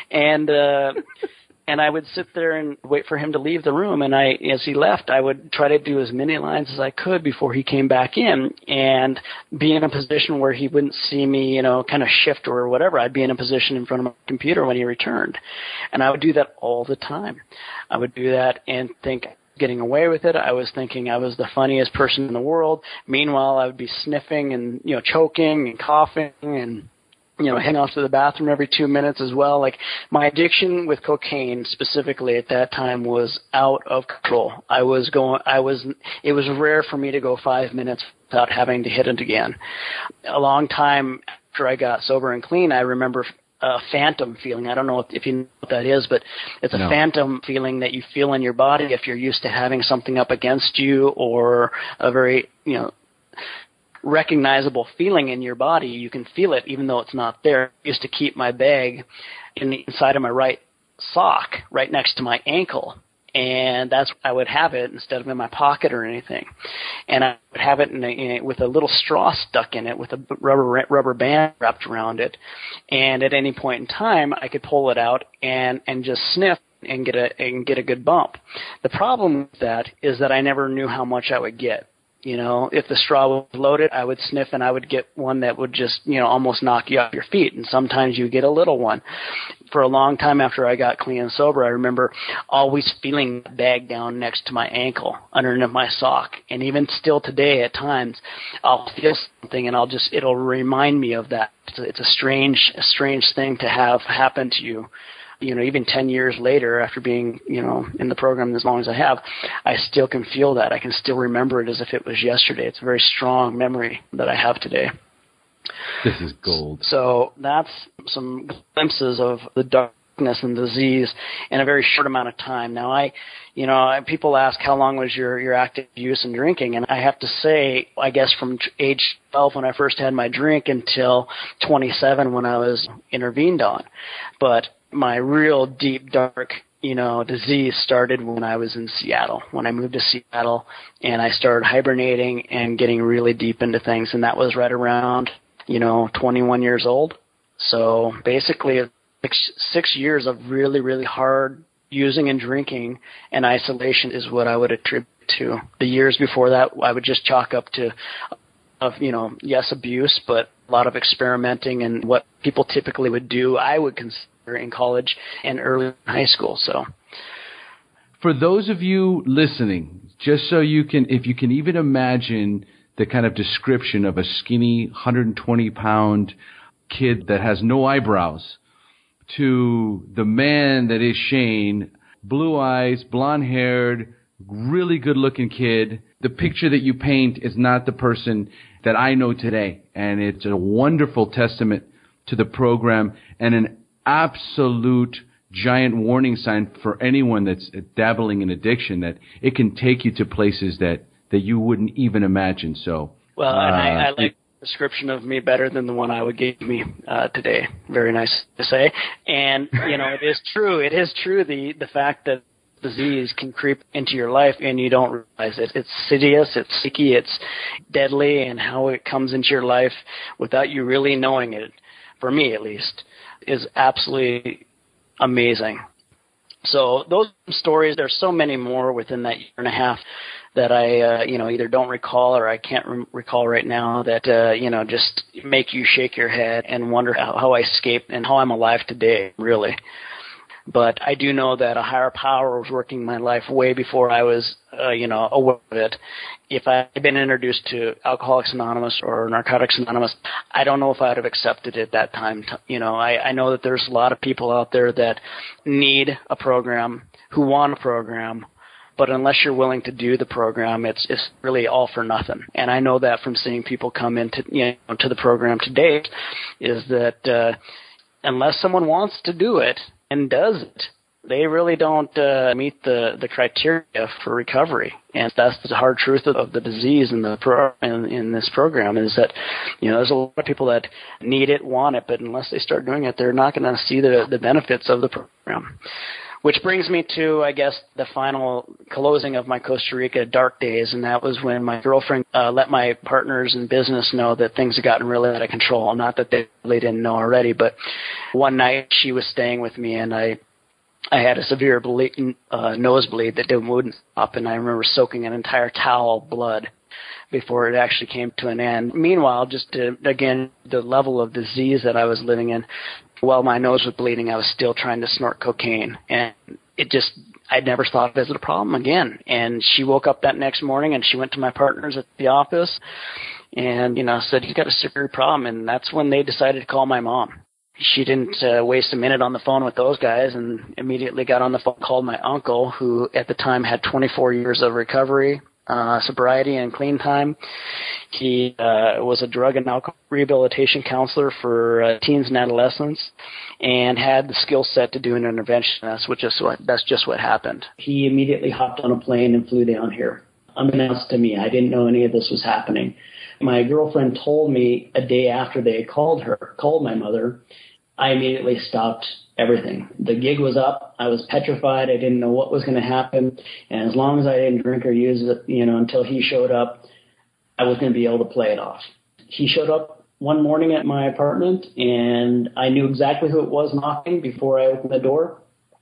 [SPEAKER 4] And I would sit there and wait for him to leave the room. And as he left, I would try to do as many lines as I could before he came back in and be in a position where he wouldn't see me, kind of shift or whatever. I'd be in a position in front of my computer when he returned. And I would do that all the time. I would do that and think getting away with it. I was thinking I was the funniest person in the world. Meanwhile, I would be sniffing and, choking and coughing and heading off to the bathroom every 2 minutes as well. Like, my addiction with cocaine specifically at that time was out of control. It was rare for me to go 5 minutes without having to hit it again. A long time after I got sober and clean, I remember a phantom feeling. I don't know if you know what that is, but it's a phantom feeling that you feel in your body if you're used to having something up against you, or a very, recognizable feeling in your body. You can feel it even though it's not there. I used to keep my bag inside of my right sock right next to my ankle, and I would have it instead of in my pocket or anything. And I would have it with a little straw stuck in it with a rubber band wrapped around it. And at any point in time, I could pull it out and just sniff and get a good bump. The problem with that is that I never knew how much I would get. If the straw was loaded, I would sniff and I would get one that would just, almost knock you off your feet. And sometimes you get a little one. For a long time after I got clean and sober, I remember always feeling the bag down next to my ankle, underneath my sock. And even still today at times, I'll feel something and it'll remind me of that. It's a strange thing to have happen to you. Even 10 years later, after being, in the program as long as I have, I still can feel that. I can still remember it as if it was yesterday. It's a very strong memory that I have today.
[SPEAKER 2] This is gold.
[SPEAKER 4] So that's some glimpses of the darkness and disease in a very short amount of time. Now, people ask how long was your active use and drinking, and I have to say, I guess from age 12 when I first had my drink until 27 when I was intervened on. But my real deep, dark, disease started when I was in Seattle, when I moved to Seattle, and I started hibernating and getting really deep into things. And that was right around, 21 years old. So basically 6 years of really, really hard using and drinking and isolation is what I would attribute to. The years before that, I would just chalk up to, yes, abuse, but a lot of experimenting and what people typically would do, I would consider in college and early in high school. So
[SPEAKER 2] for those of you listening, just so if you can even imagine the kind of description of a skinny 120-pound kid that has no eyebrows to the man that is Shane, blue eyes, blonde-haired, really good-looking kid, the picture that you paint is not the person that I know today. And it's a wonderful testament to the program and an absolute giant warning sign for anyone that's dabbling in addiction, that it can take you to places that you wouldn't even imagine. So,
[SPEAKER 4] well, and I like the description of me better than the one I would give me today. Very nice to say. And, it is true. It is true. The fact that disease can creep into your life and you don't realize it. It's insidious, it's sneaky, it's deadly, and how it comes into your life without you really knowing it, for me at least, is absolutely amazing. So those stories, there's so many more within that year and a half that I, either don't recall or I can't recall right now that, just make you shake your head and wonder how I escaped and how I'm alive today, really. But I do know that a higher power was working in my life way before I was, aware of it. If I had been introduced to Alcoholics Anonymous or Narcotics Anonymous, I don't know if I would have accepted it at that time. I know that there's a lot of people out there that need a program, who want a program, but unless you're willing to do the program, it's really all for nothing. And I know that from seeing people come into, to the program to date, is that unless someone wants to do it and does it, they really don't meet the criteria for recovery. And that's the hard truth of the disease in this program, is that, there's a lot of people that need it, want it, but unless they start doing it, they're not going to see the benefits of the program. Which brings me to, I guess, the final closing of my Costa Rica dark days, and that was when my girlfriend let my partners in business know that things had gotten really out of control. Not that they really didn't know already, but one night she was staying with me, and I had a severe nosebleed that wouldn't stop, and I remember soaking an entire towel of blood before it actually came to an end. Meanwhile, again, the level of disease that I was living in, while my nose was bleeding, I was still trying to snort cocaine. And I'd never thought of it as a problem again. And she woke up that next morning and she went to my partners at the office and, said, "You've got a severe problem." And that's when they decided to call my mom. She didn't waste a minute on the phone with those guys, and immediately got on the phone, called my uncle, who at the time had 24 years of recovery, sobriety, and clean time. He was a drug and alcohol rehabilitation counselor for teens and adolescents, and had the skill set to do an intervention. That's just what happened.
[SPEAKER 3] He immediately hopped on a plane and flew down here. Unbeknownst to me, I didn't know any of this was happening. My girlfriend told me a day after they had called my mother. I immediately stopped everything. The gig was up. I was petrified. I didn't know what was going to happen. And as long as I didn't drink or use it, until he showed up, I was going to be able to play it off. He showed up one morning at my apartment, and I knew exactly who it was knocking before I opened the door.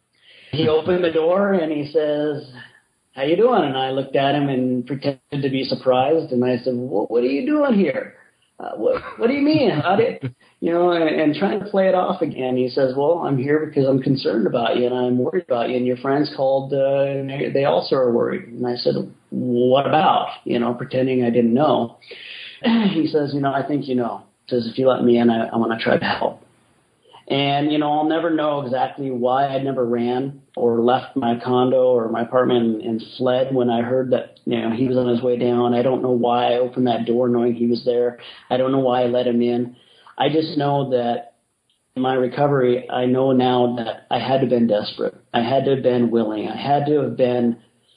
[SPEAKER 3] He opened the door, and he says, "How you doing?" And I looked at him and pretended to be surprised, and I said, "What are you doing here? What do you mean? How did and trying to play it off again. He says, "Well, I'm here because I'm concerned about you and I'm worried about you, and your friends called, they also are worried." And I said, "What about?" Pretending I didn't know. He says, "I think you know." He says, "If you let me in, I want to try to help." And, I'll never know exactly why I never ran or left my condo or my apartment and fled when I heard that, he was on his way down. I don't know why I opened that door knowing he was there. I don't know why I let him in. I just know that in my recovery, I know now that I had to have been desperate. I had to have been willing. I had to have been,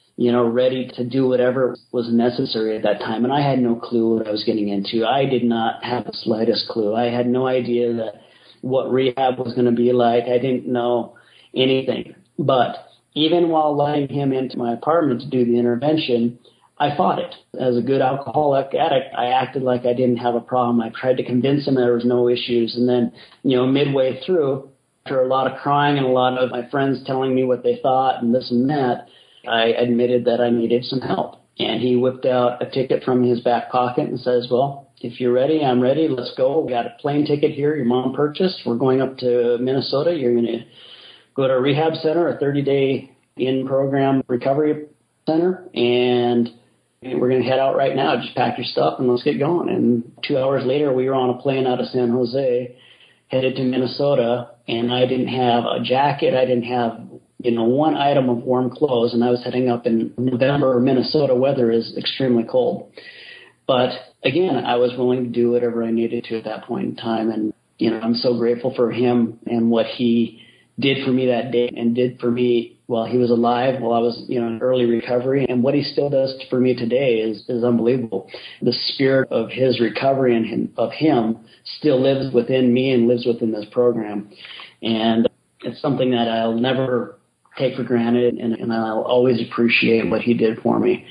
[SPEAKER 3] ready to do whatever was necessary at that time. And I had no clue what I was getting into. I did not have the slightest clue. I had no idea that what rehab was going to be like. I didn't know anything. But even while letting him into my apartment to do the intervention, I fought it. As a good alcoholic addict, I acted like I didn't have a problem. I tried to convince him there was no issues. And then, midway through, after a lot of crying and a lot of my friends telling me what they thought and this and that, I admitted that I needed some help. And he whipped out a ticket from his back pocket and says, "Well, if you're ready, I'm ready. Let's go. We got a plane ticket here your mom purchased. We're going up to Minnesota. You're going to go to a rehab center, a 30-day in-program recovery center, and we're going to head out right now. Just pack your stuff and let's get going." And 2 hours later, we were on a plane out of San Jose, headed to Minnesota, and I didn't have a jacket. I didn't have, one item of warm clothes, and I was heading up in November. Minnesota weather is extremely cold. But again, I was willing to do whatever I needed to at that point in time. And, I'm so grateful for him and what he did for me that day and did for me while he was alive, while I was, in early recovery. And what he still does for me today is unbelievable. The spirit of his recovery and of him still lives within me and lives within this program. And it's something that I'll never take for granted, and I'll always appreciate what he did for me.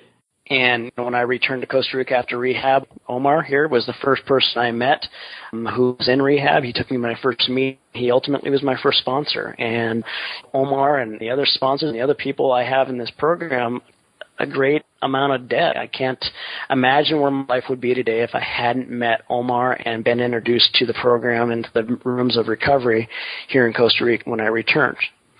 [SPEAKER 4] And when I returned to Costa Rica after rehab, Omar here was the first person I met who was in rehab. He took me to my first meeting. He ultimately was my first sponsor. And Omar and the other sponsors and the other people I have in this program, a great amount of debt. I can't imagine where my life would be today if I hadn't met Omar and been introduced to the program and to the rooms of recovery here in Costa Rica when I returned.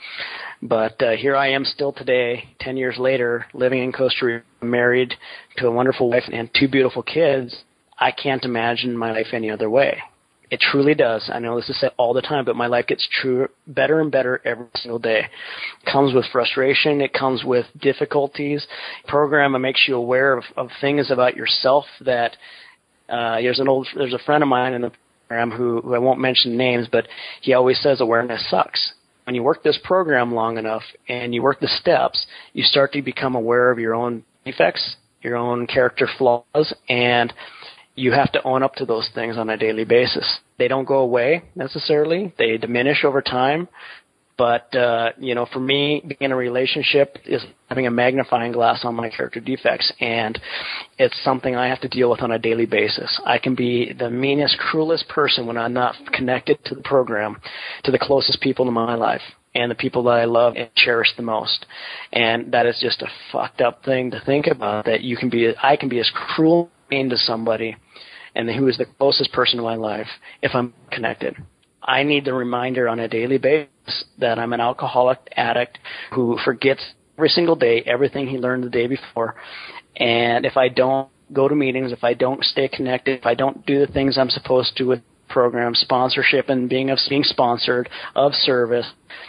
[SPEAKER 4] But here I am still today, 10 years later, living in Costa Rica, married to a wonderful wife and 2 beautiful kids. I can't imagine my life any other way. It truly does. I know this is said all the time, but my life gets better and better every single day. It comes with frustration. It comes with difficulties. The program makes you aware of things about yourself that there's a friend of mine in the program who I won't mention names, but he always says awareness sucks. When you work this program long enough and you work the steps, you start to become aware of your own defects, your own character flaws, and you have to own up to those things on a daily basis. They don't go away necessarily. They diminish over time. But, for me, being in a relationship is having a magnifying glass on my character defects, and it's something I have to deal with on a daily basis. I can be the meanest, cruelest person when I'm not connected to the program, to the closest people in my life, and the people that I love and cherish the most. And that is just a fucked up thing to think about, that I can be as cruel and mean to somebody, and who is the closest person in my life, if I'm connected. I need the reminder on a daily basis that I'm an alcoholic addict who forgets every single day everything he learned the day before. And if I don't go to meetings, if I don't stay connected, if I don't do the things I'm supposed to with program sponsorship and being sponsored, of service,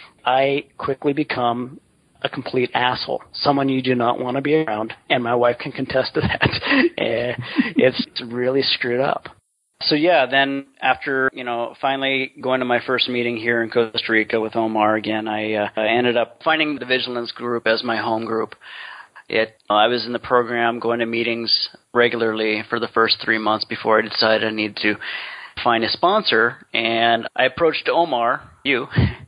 [SPEAKER 4] I quickly become a complete asshole, someone you do not want to be around, and my wife can contest to that. It's really screwed up. So yeah, then after, finally going to my first meeting here in Costa Rica with Omar again, I ended up finding the Vigilance group as my home group. I was in the program going to meetings regularly for the first 3 months before I decided I needed to find a sponsor, and I approached Omar, you,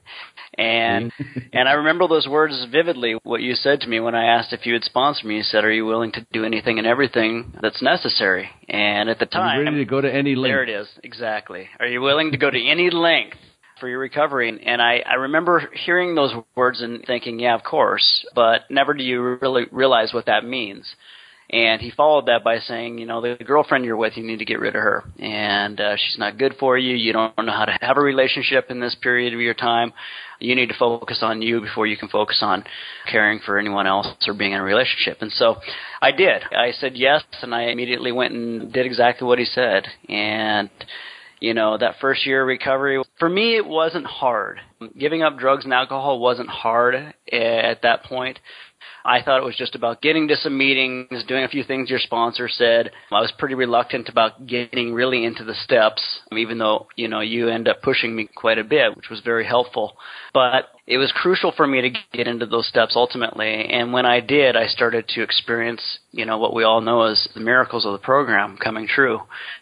[SPEAKER 4] and I remember those words vividly, what you said to me when I asked if you would sponsor me. You said, "Are you willing to do anything and everything that's necessary?" And at the time,
[SPEAKER 2] are you ready to go to any length?
[SPEAKER 4] There it is, exactly. Are you willing to go to any length for your recovery? And I remember hearing those words and thinking, yeah, of course, but never do you really realize what that means. And he followed that by saying, the girlfriend you're with, you need to get rid of her. And she's not good for you. You don't know how to have a relationship in this period of your time. You need to focus on you before you can focus on caring for anyone else or being in a relationship. And so I did. I said yes, and I immediately went and did exactly what he said. And that first year of recovery, for me, it wasn't hard. Giving up drugs and alcohol wasn't hard at that point. I thought it was just about getting to some meetings, doing a few things your sponsor said. I was pretty reluctant about getting really into the steps, even though, you end up pushing me quite a bit, which was very helpful. But it was crucial for me to get into those steps ultimately. And when I did, I started to experience, what we all know as the miracles of the program coming true.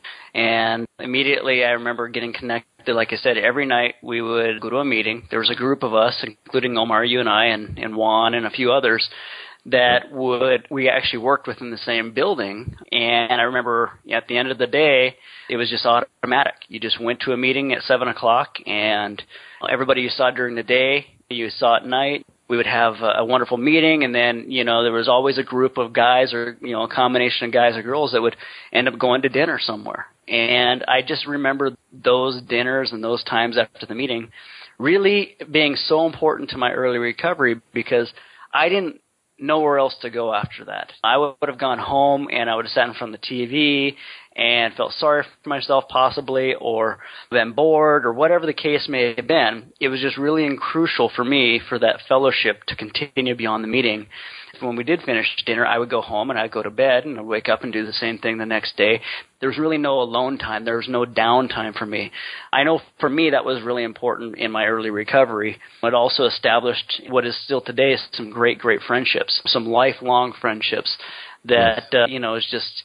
[SPEAKER 4] And immediately I remember getting connected. Like I said, every night we would go to a meeting. There was a group of us, including Omar, you and I, and Juan and a few others, that we actually worked within the same building. And I remember at the end of the day, it was just automatic. You just went to a meeting at 7 o'clock, and everybody you saw during the day, you saw at night. We would have a wonderful meeting, and then, there was always a group of guys or, a combination of guys or girls that would end up going to dinner somewhere. And I just remember those dinners and those times after the meeting really being so important to my early recovery, because I didn't know where else to go after that. I would have gone home and I would have sat in front of the TV and felt sorry for myself possibly, or been bored, or whatever the case may have been. It was just really crucial for me for that fellowship to continue beyond the meeting. When we did finish dinner, I would go home and I'd go to bed and I'd wake up and do the same thing the next day. There was really no alone time. There was no downtime for me. I know for me that was really important in my early recovery. It also established what is still today some great, great friendships, some lifelong friendships that, is just,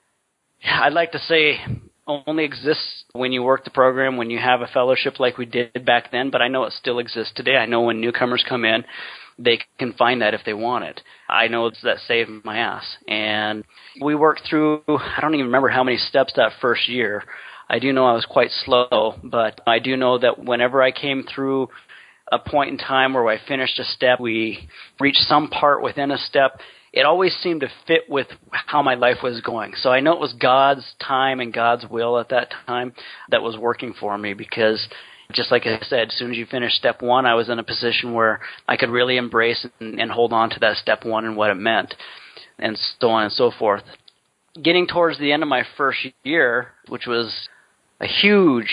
[SPEAKER 4] I'd like to say only exists when you work the program, when you have a fellowship like we did back then, but I know it still exists today. I know when newcomers come in, they can find that if they want it. I know that saved my ass. And we worked through, I don't even remember how many steps that first year. I do know I was quite slow, but I do know that whenever I came through a point in time where I finished a step, we reached some part within a step, it always seemed to fit with how my life was going. So I know it was God's time and God's will at that time that was working for me, because just like I said, as soon as you finish step one, I was in a position where I could really embrace and hold on to that step one and what it meant, and so on and so forth. Getting towards the end of my first year, which was a huge,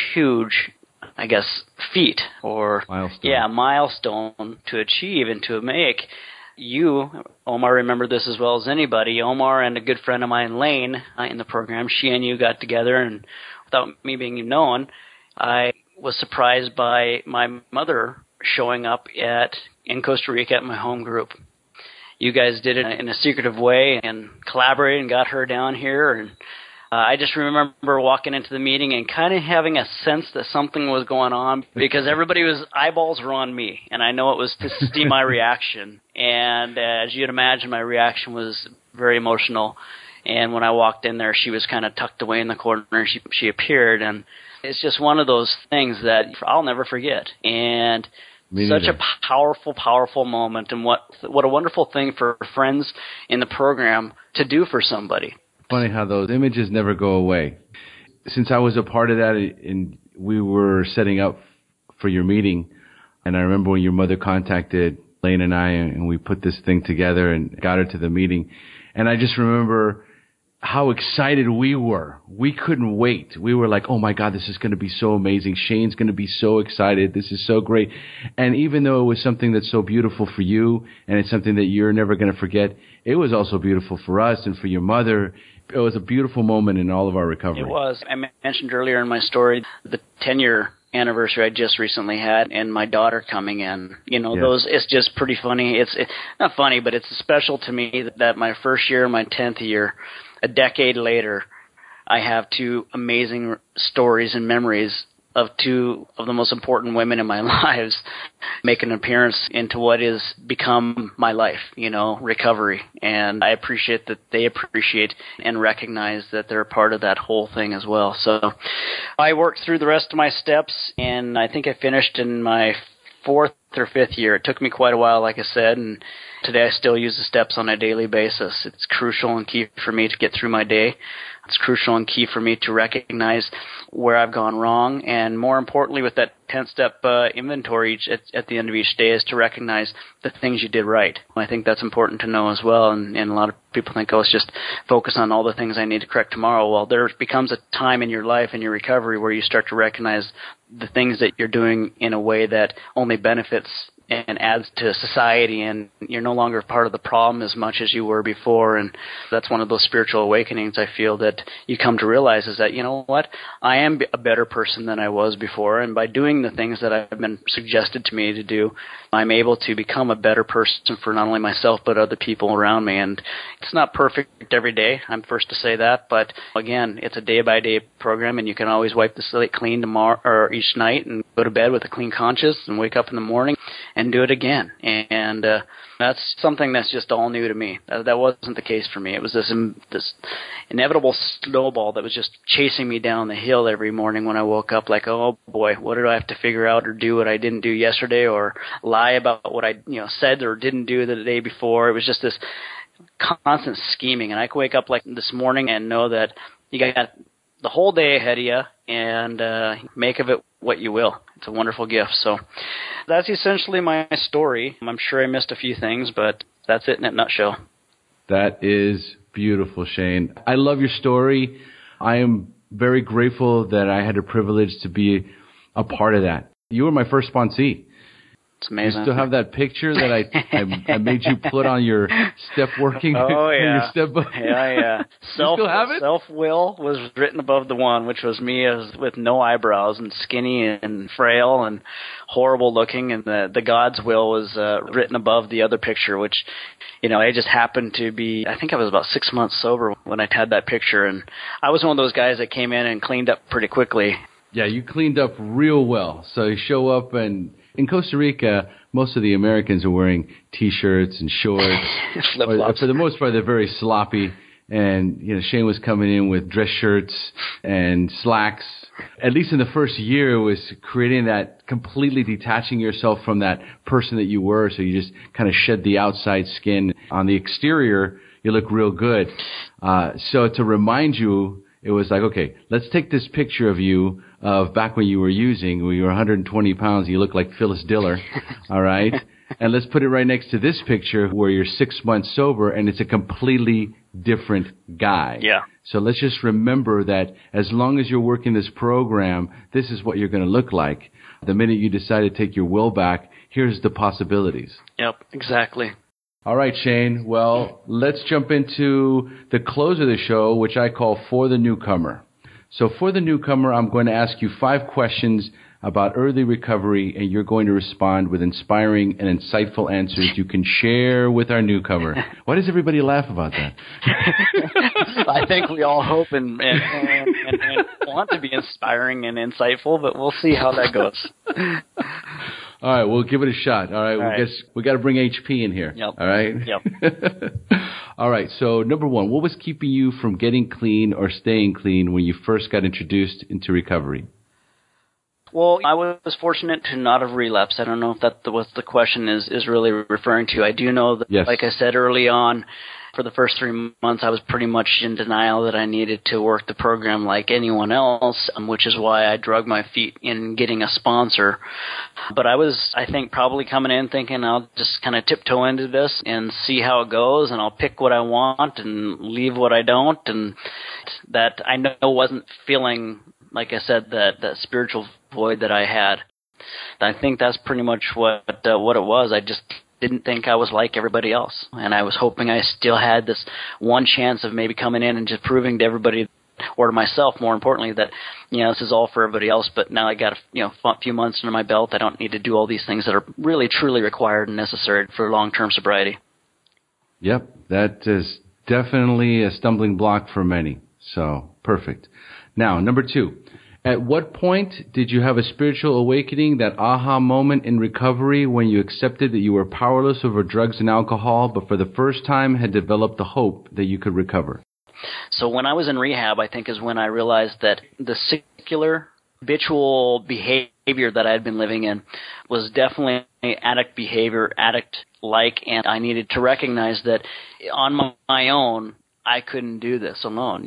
[SPEAKER 4] I guess, feat or milestone to achieve and to make. You, Omar, remember this as well as anybody. Omar and a good friend of mine, Lane, in the program, she and you got together, and without me being known, I was surprised by my mother showing up in Costa Rica at my home group. You guys did it in a secretive way and collaborated and got her down here, and I just remember walking into the meeting and kind of having a sense that something was going on, because eyeballs were on me, and I know it was to see my reaction. And as you'd imagine, my reaction was very emotional. And when I walked in there, she was kind of tucked away in the corner, and she appeared, and it's just one of those things that I'll never forget. And such a powerful, powerful moment, and what a wonderful thing for friends in the program to do for somebody.
[SPEAKER 2] Funny how those images never go away. Since I was a part of that, and we were setting up for your meeting, and I remember when your mother contacted Lane and I, and we put this thing together and got her to the meeting, and I just remember how excited we were. We couldn't wait. We were like, oh my God, this is going to be so amazing. Shane's going to be so excited. This is so great. And even though it was something that's so beautiful for you and it's something that you're never going to forget, it was also beautiful for us and for your mother. It was a beautiful moment in all of our recovery.
[SPEAKER 4] It was. I mentioned earlier in my story the 10-year anniversary I just recently had and my daughter coming in. You know, those, it's just pretty funny. It's not funny, but it's special to me that my first year and my 10th year, a decade later, I have two amazing stories and memories of two of the most important women in my lives make an appearance into what is become my life, you know, recovery. And I appreciate that they appreciate and recognize that they're a part of that whole thing as well. So I worked through the rest of my steps, and I think I finished in my 4th or 5th year. It took me quite a while, like I said, and today I still use the steps on a daily basis. It's crucial and key for me to get through my day. It's crucial and key for me to recognize where I've gone wrong, and more importantly, with that 10-step inventory at the end of each day, is to recognize the things you did right. I think that's important to know as well, and a lot of people think, oh, it's just focus on all the things I need to correct tomorrow. Well, there becomes a time in your life, in your recovery, where you start to recognize the things that you're doing in a way that only benefits and adds to society, and you're no longer part of the problem as much as you were before. And that's one of those spiritual awakenings I feel that you come to realize, is that, you know what, I am a better person than I was before, and by doing the things that have been suggested to me to do, I'm able to become a better person for not only myself but other people around me. And it's not perfect every day, I'm first to say that, but again, it's a day-by-day program, and you can always wipe the slate clean tomorrow or each night and go to bed with a clean conscience and wake up in the morning and do it again. And that's something that's just all new to me. That wasn't the case for me. It was this inevitable snowball that was just chasing me down the hill every morning when I woke up, like, oh boy, what did I have to figure out or do what I didn't do yesterday, or lie about what I said or didn't do the day before. It was just this constant scheming. And I could wake up like this morning and know that you got the whole day ahead of you, and make of it what you will. It's a wonderful gift. So that's essentially my story. I'm sure I missed a few things, but that's it in a nutshell.
[SPEAKER 2] That is beautiful, Shane. I love your story. I am very grateful that I had the privilege to be a part of that. You were my first sponsee.
[SPEAKER 4] It's amazing.
[SPEAKER 2] You still have that picture that I made you put on your step working?
[SPEAKER 4] Oh, yeah.
[SPEAKER 2] Your step book?
[SPEAKER 4] Yeah.
[SPEAKER 2] You still have it?
[SPEAKER 4] Self-will was written above the one, which was me with no eyebrows and skinny and frail and horrible looking. And the God's will was written above the other picture, which, I just happened to be, I think I was about 6 months sober when I had that picture. And I was one of those guys that came in and cleaned up pretty quickly.
[SPEAKER 2] Yeah, you cleaned up real well. So you show up, and in Costa Rica, most of the Americans are wearing T-shirts and shorts.
[SPEAKER 4] Flip-flops.
[SPEAKER 2] For the most part, they're very sloppy. And, Shane was coming in with dress shirts and slacks. At least in the first year, it was creating that completely detaching yourself from that person that you were. So you just kind of shed the outside skin. On the exterior, you look real good. So to remind you, it was like, okay, let's take this picture of you of back when you were using, when you were 120 pounds, you look like Phyllis Diller, all right? And let's put it right next to this picture where you're 6 months sober, and it's a completely different guy.
[SPEAKER 4] Yeah.
[SPEAKER 2] So let's just remember that as long as you're working this program, this is what you're going to look like. The minute you decide to take your will back, here's the possibilities.
[SPEAKER 4] Yep, exactly.
[SPEAKER 2] All right, Shane. Well, let's jump into the close of the show, which I call For the Newcomer. So for the newcomer, I'm going to ask you 5 questions about early recovery, and you're going to respond with inspiring and insightful answers you can share with our newcomer. Why does everybody laugh about that?
[SPEAKER 4] I think we all hope and want to be inspiring and insightful, but we'll see how that goes.
[SPEAKER 2] All right, we'll give it a shot. All right, we got to bring HP in here.
[SPEAKER 4] Yep.
[SPEAKER 2] All right?
[SPEAKER 4] Yep.
[SPEAKER 2] All right, so number 1, what was keeping you from getting clean or staying clean when you first got introduced into recovery?
[SPEAKER 4] Well, I was fortunate to not have relapsed. I don't know if that what the question is really referring to. I do know that, like I said early on, for the first 3 months, I was pretty much in denial that I needed to work the program like anyone else, which is why I drug my feet in getting a sponsor. But I was, I think, probably coming in thinking I'll just kind of tiptoe into this and see how it goes, and I'll pick what I want and leave what I don't, and that I know wasn't feeling, like I said, that spiritual void that I had. I think that's pretty much what it was. I just didn't think I was like everybody else, and I was hoping I still had this one chance of maybe coming in and just proving to everybody, or to myself more importantly, that this is all for everybody else, but now I got a few months under my belt. I don't need to do all these things that are really truly required and necessary for long-term sobriety.
[SPEAKER 2] Yep, that is definitely a stumbling block for many, so perfect. Now, number 2. At what point did you have a spiritual awakening, that aha moment in recovery when you accepted that you were powerless over drugs and alcohol, but for the first time had developed the hope that you could recover?
[SPEAKER 4] So when I was in rehab, I think is when I realized that the secular, habitual behavior that I had been living in was definitely addict behavior, addict-like, and I needed to recognize that on my own, I couldn't do this alone.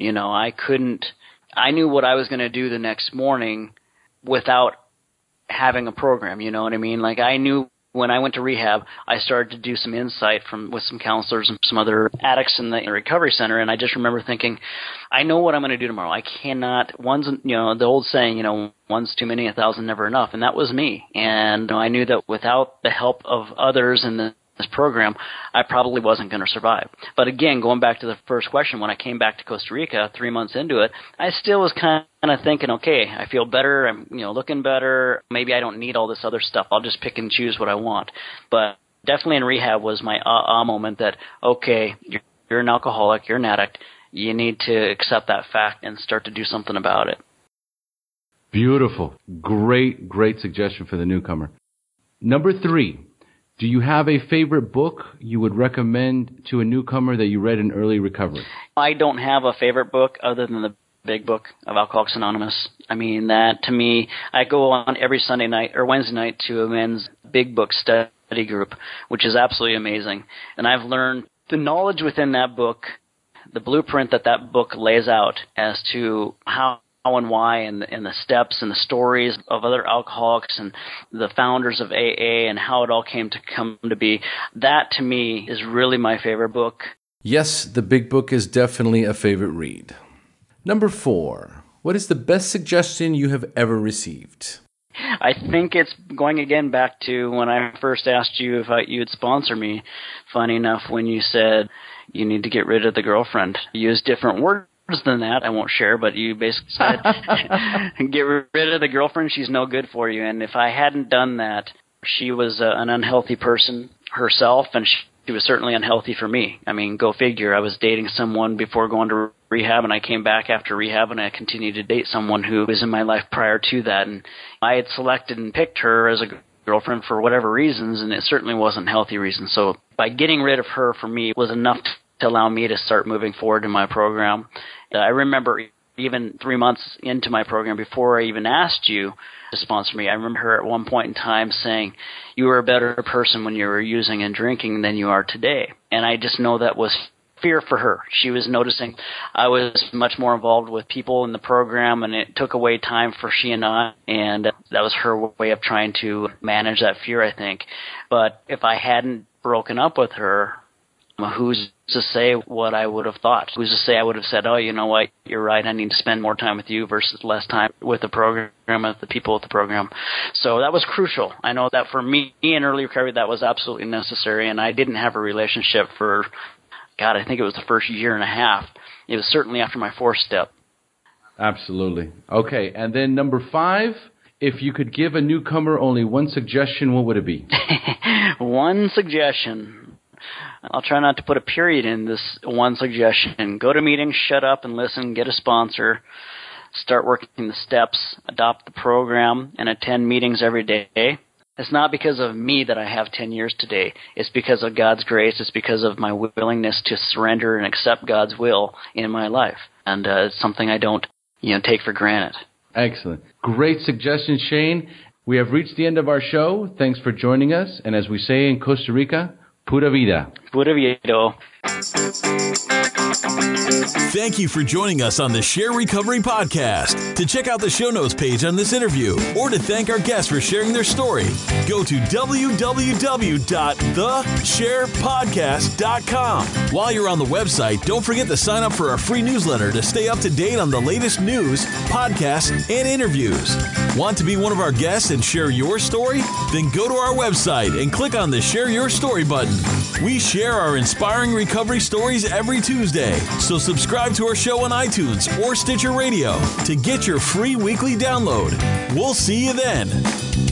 [SPEAKER 4] I knew what I was going to do the next morning without having a program, you know what I mean? Like, I knew when I went to rehab, I started to do some insight with some counselors and some other addicts in the recovery center, and I just remember thinking, I know what I'm going to do tomorrow. I cannot, the old saying, one's too many, 1,000 never enough, and that was me. And I knew that without the help of others in this program, I probably wasn't going to survive. But again, going back to the first question, when I came back to Costa Rica 3 months into it, I still was kind of thinking, okay, I feel better, I'm looking better, maybe I don't need all this other stuff, I'll just pick and choose what I want. But definitely in rehab was my moment that, okay, you're an alcoholic, you're an addict, you need to accept that fact and start to do something about it.
[SPEAKER 2] Beautiful. Great suggestion for the newcomer. Number 3. Do you have a favorite book you would recommend to a newcomer that you read in early recovery? I
[SPEAKER 4] don't have a favorite book other than the Big Book of Alcoholics Anonymous. I mean, that to me, I go on every Sunday night or Wednesday night to a men's Big Book study group, which is absolutely amazing. And I've learned the knowledge within that book, the blueprint that book lays out as to how and why, and the steps and the stories of other alcoholics and the founders of AA and how it all came to be. That, to me, is really my favorite book.
[SPEAKER 2] Yes, the Big Book is definitely a favorite read. Number 4. What is the best suggestion you have ever received?
[SPEAKER 4] I think it's going again back to when I first asked you if you'd sponsor me. Funny enough, when you said you need to get rid of the girlfriend, you used different words than that, I won't share, but you basically said, get rid of the girlfriend, she's no good for you. And if I hadn't done that, she was an unhealthy person herself, and she was certainly unhealthy for me. I mean, go figure. I was dating someone before going to rehab, and I came back after rehab, and I continued to date someone who was in my life prior to that. And I had selected and picked her as a girlfriend for whatever reasons, and it certainly wasn't healthy reasons. So by getting rid of her, for me, was enough to allow me to start moving forward in my program. I remember even 3 months into my program, before I even asked you to sponsor me, I remember her at one point in time saying, you were a better person when you were using and drinking than you are today. And I just know that was fear for her. She was noticing I was much more involved with people in the program, and it took away time for she and I, and that was her way of trying to manage that fear, I think. But if I hadn't broken up with her, who's to say what I would have thought? Who's to say I would have said, oh, you know what, you're right, I need to spend more time with you versus less time with the program, with the people at the program. So that was crucial. I know that for me in early recovery, that was absolutely necessary, and I didn't have a relationship for, I think it was the first year and a half. It was certainly after my 4th step.
[SPEAKER 2] Absolutely. Okay, and then number 5, if you could give a newcomer only one suggestion, what would it be?
[SPEAKER 4] One suggestion. I'll try not to put a period in this one suggestion. Go to meetings, shut up and listen, get a sponsor, start working the steps, adopt the program, and attend meetings every day. It's not because of me that I have 10 years today. It's because of God's grace. It's because of my willingness to surrender and accept God's will in my life. And it's something I don't, take for granted.
[SPEAKER 2] Excellent. Great suggestion, Shane. We have reached the end of our show. Thanks for joining us. And as we say in Costa Rica, pura vida.
[SPEAKER 4] Pura vida.
[SPEAKER 1] Thank you for joining us on the Share Recovery Podcast. To check out the show notes page on this interview or to thank our guests for sharing their story, go to www.thesharepodcast.com. While you're on the website, don't forget to sign up for our free newsletter to stay up to date on the latest news, podcasts, and interviews. Want to be one of our guests and share your story? Then go to our website and click on the Share Your Story button. We share our inspiring recovery stories every Tuesday, so subscribe to our show on iTunes or Stitcher Radio to get your free weekly download. We'll see you then.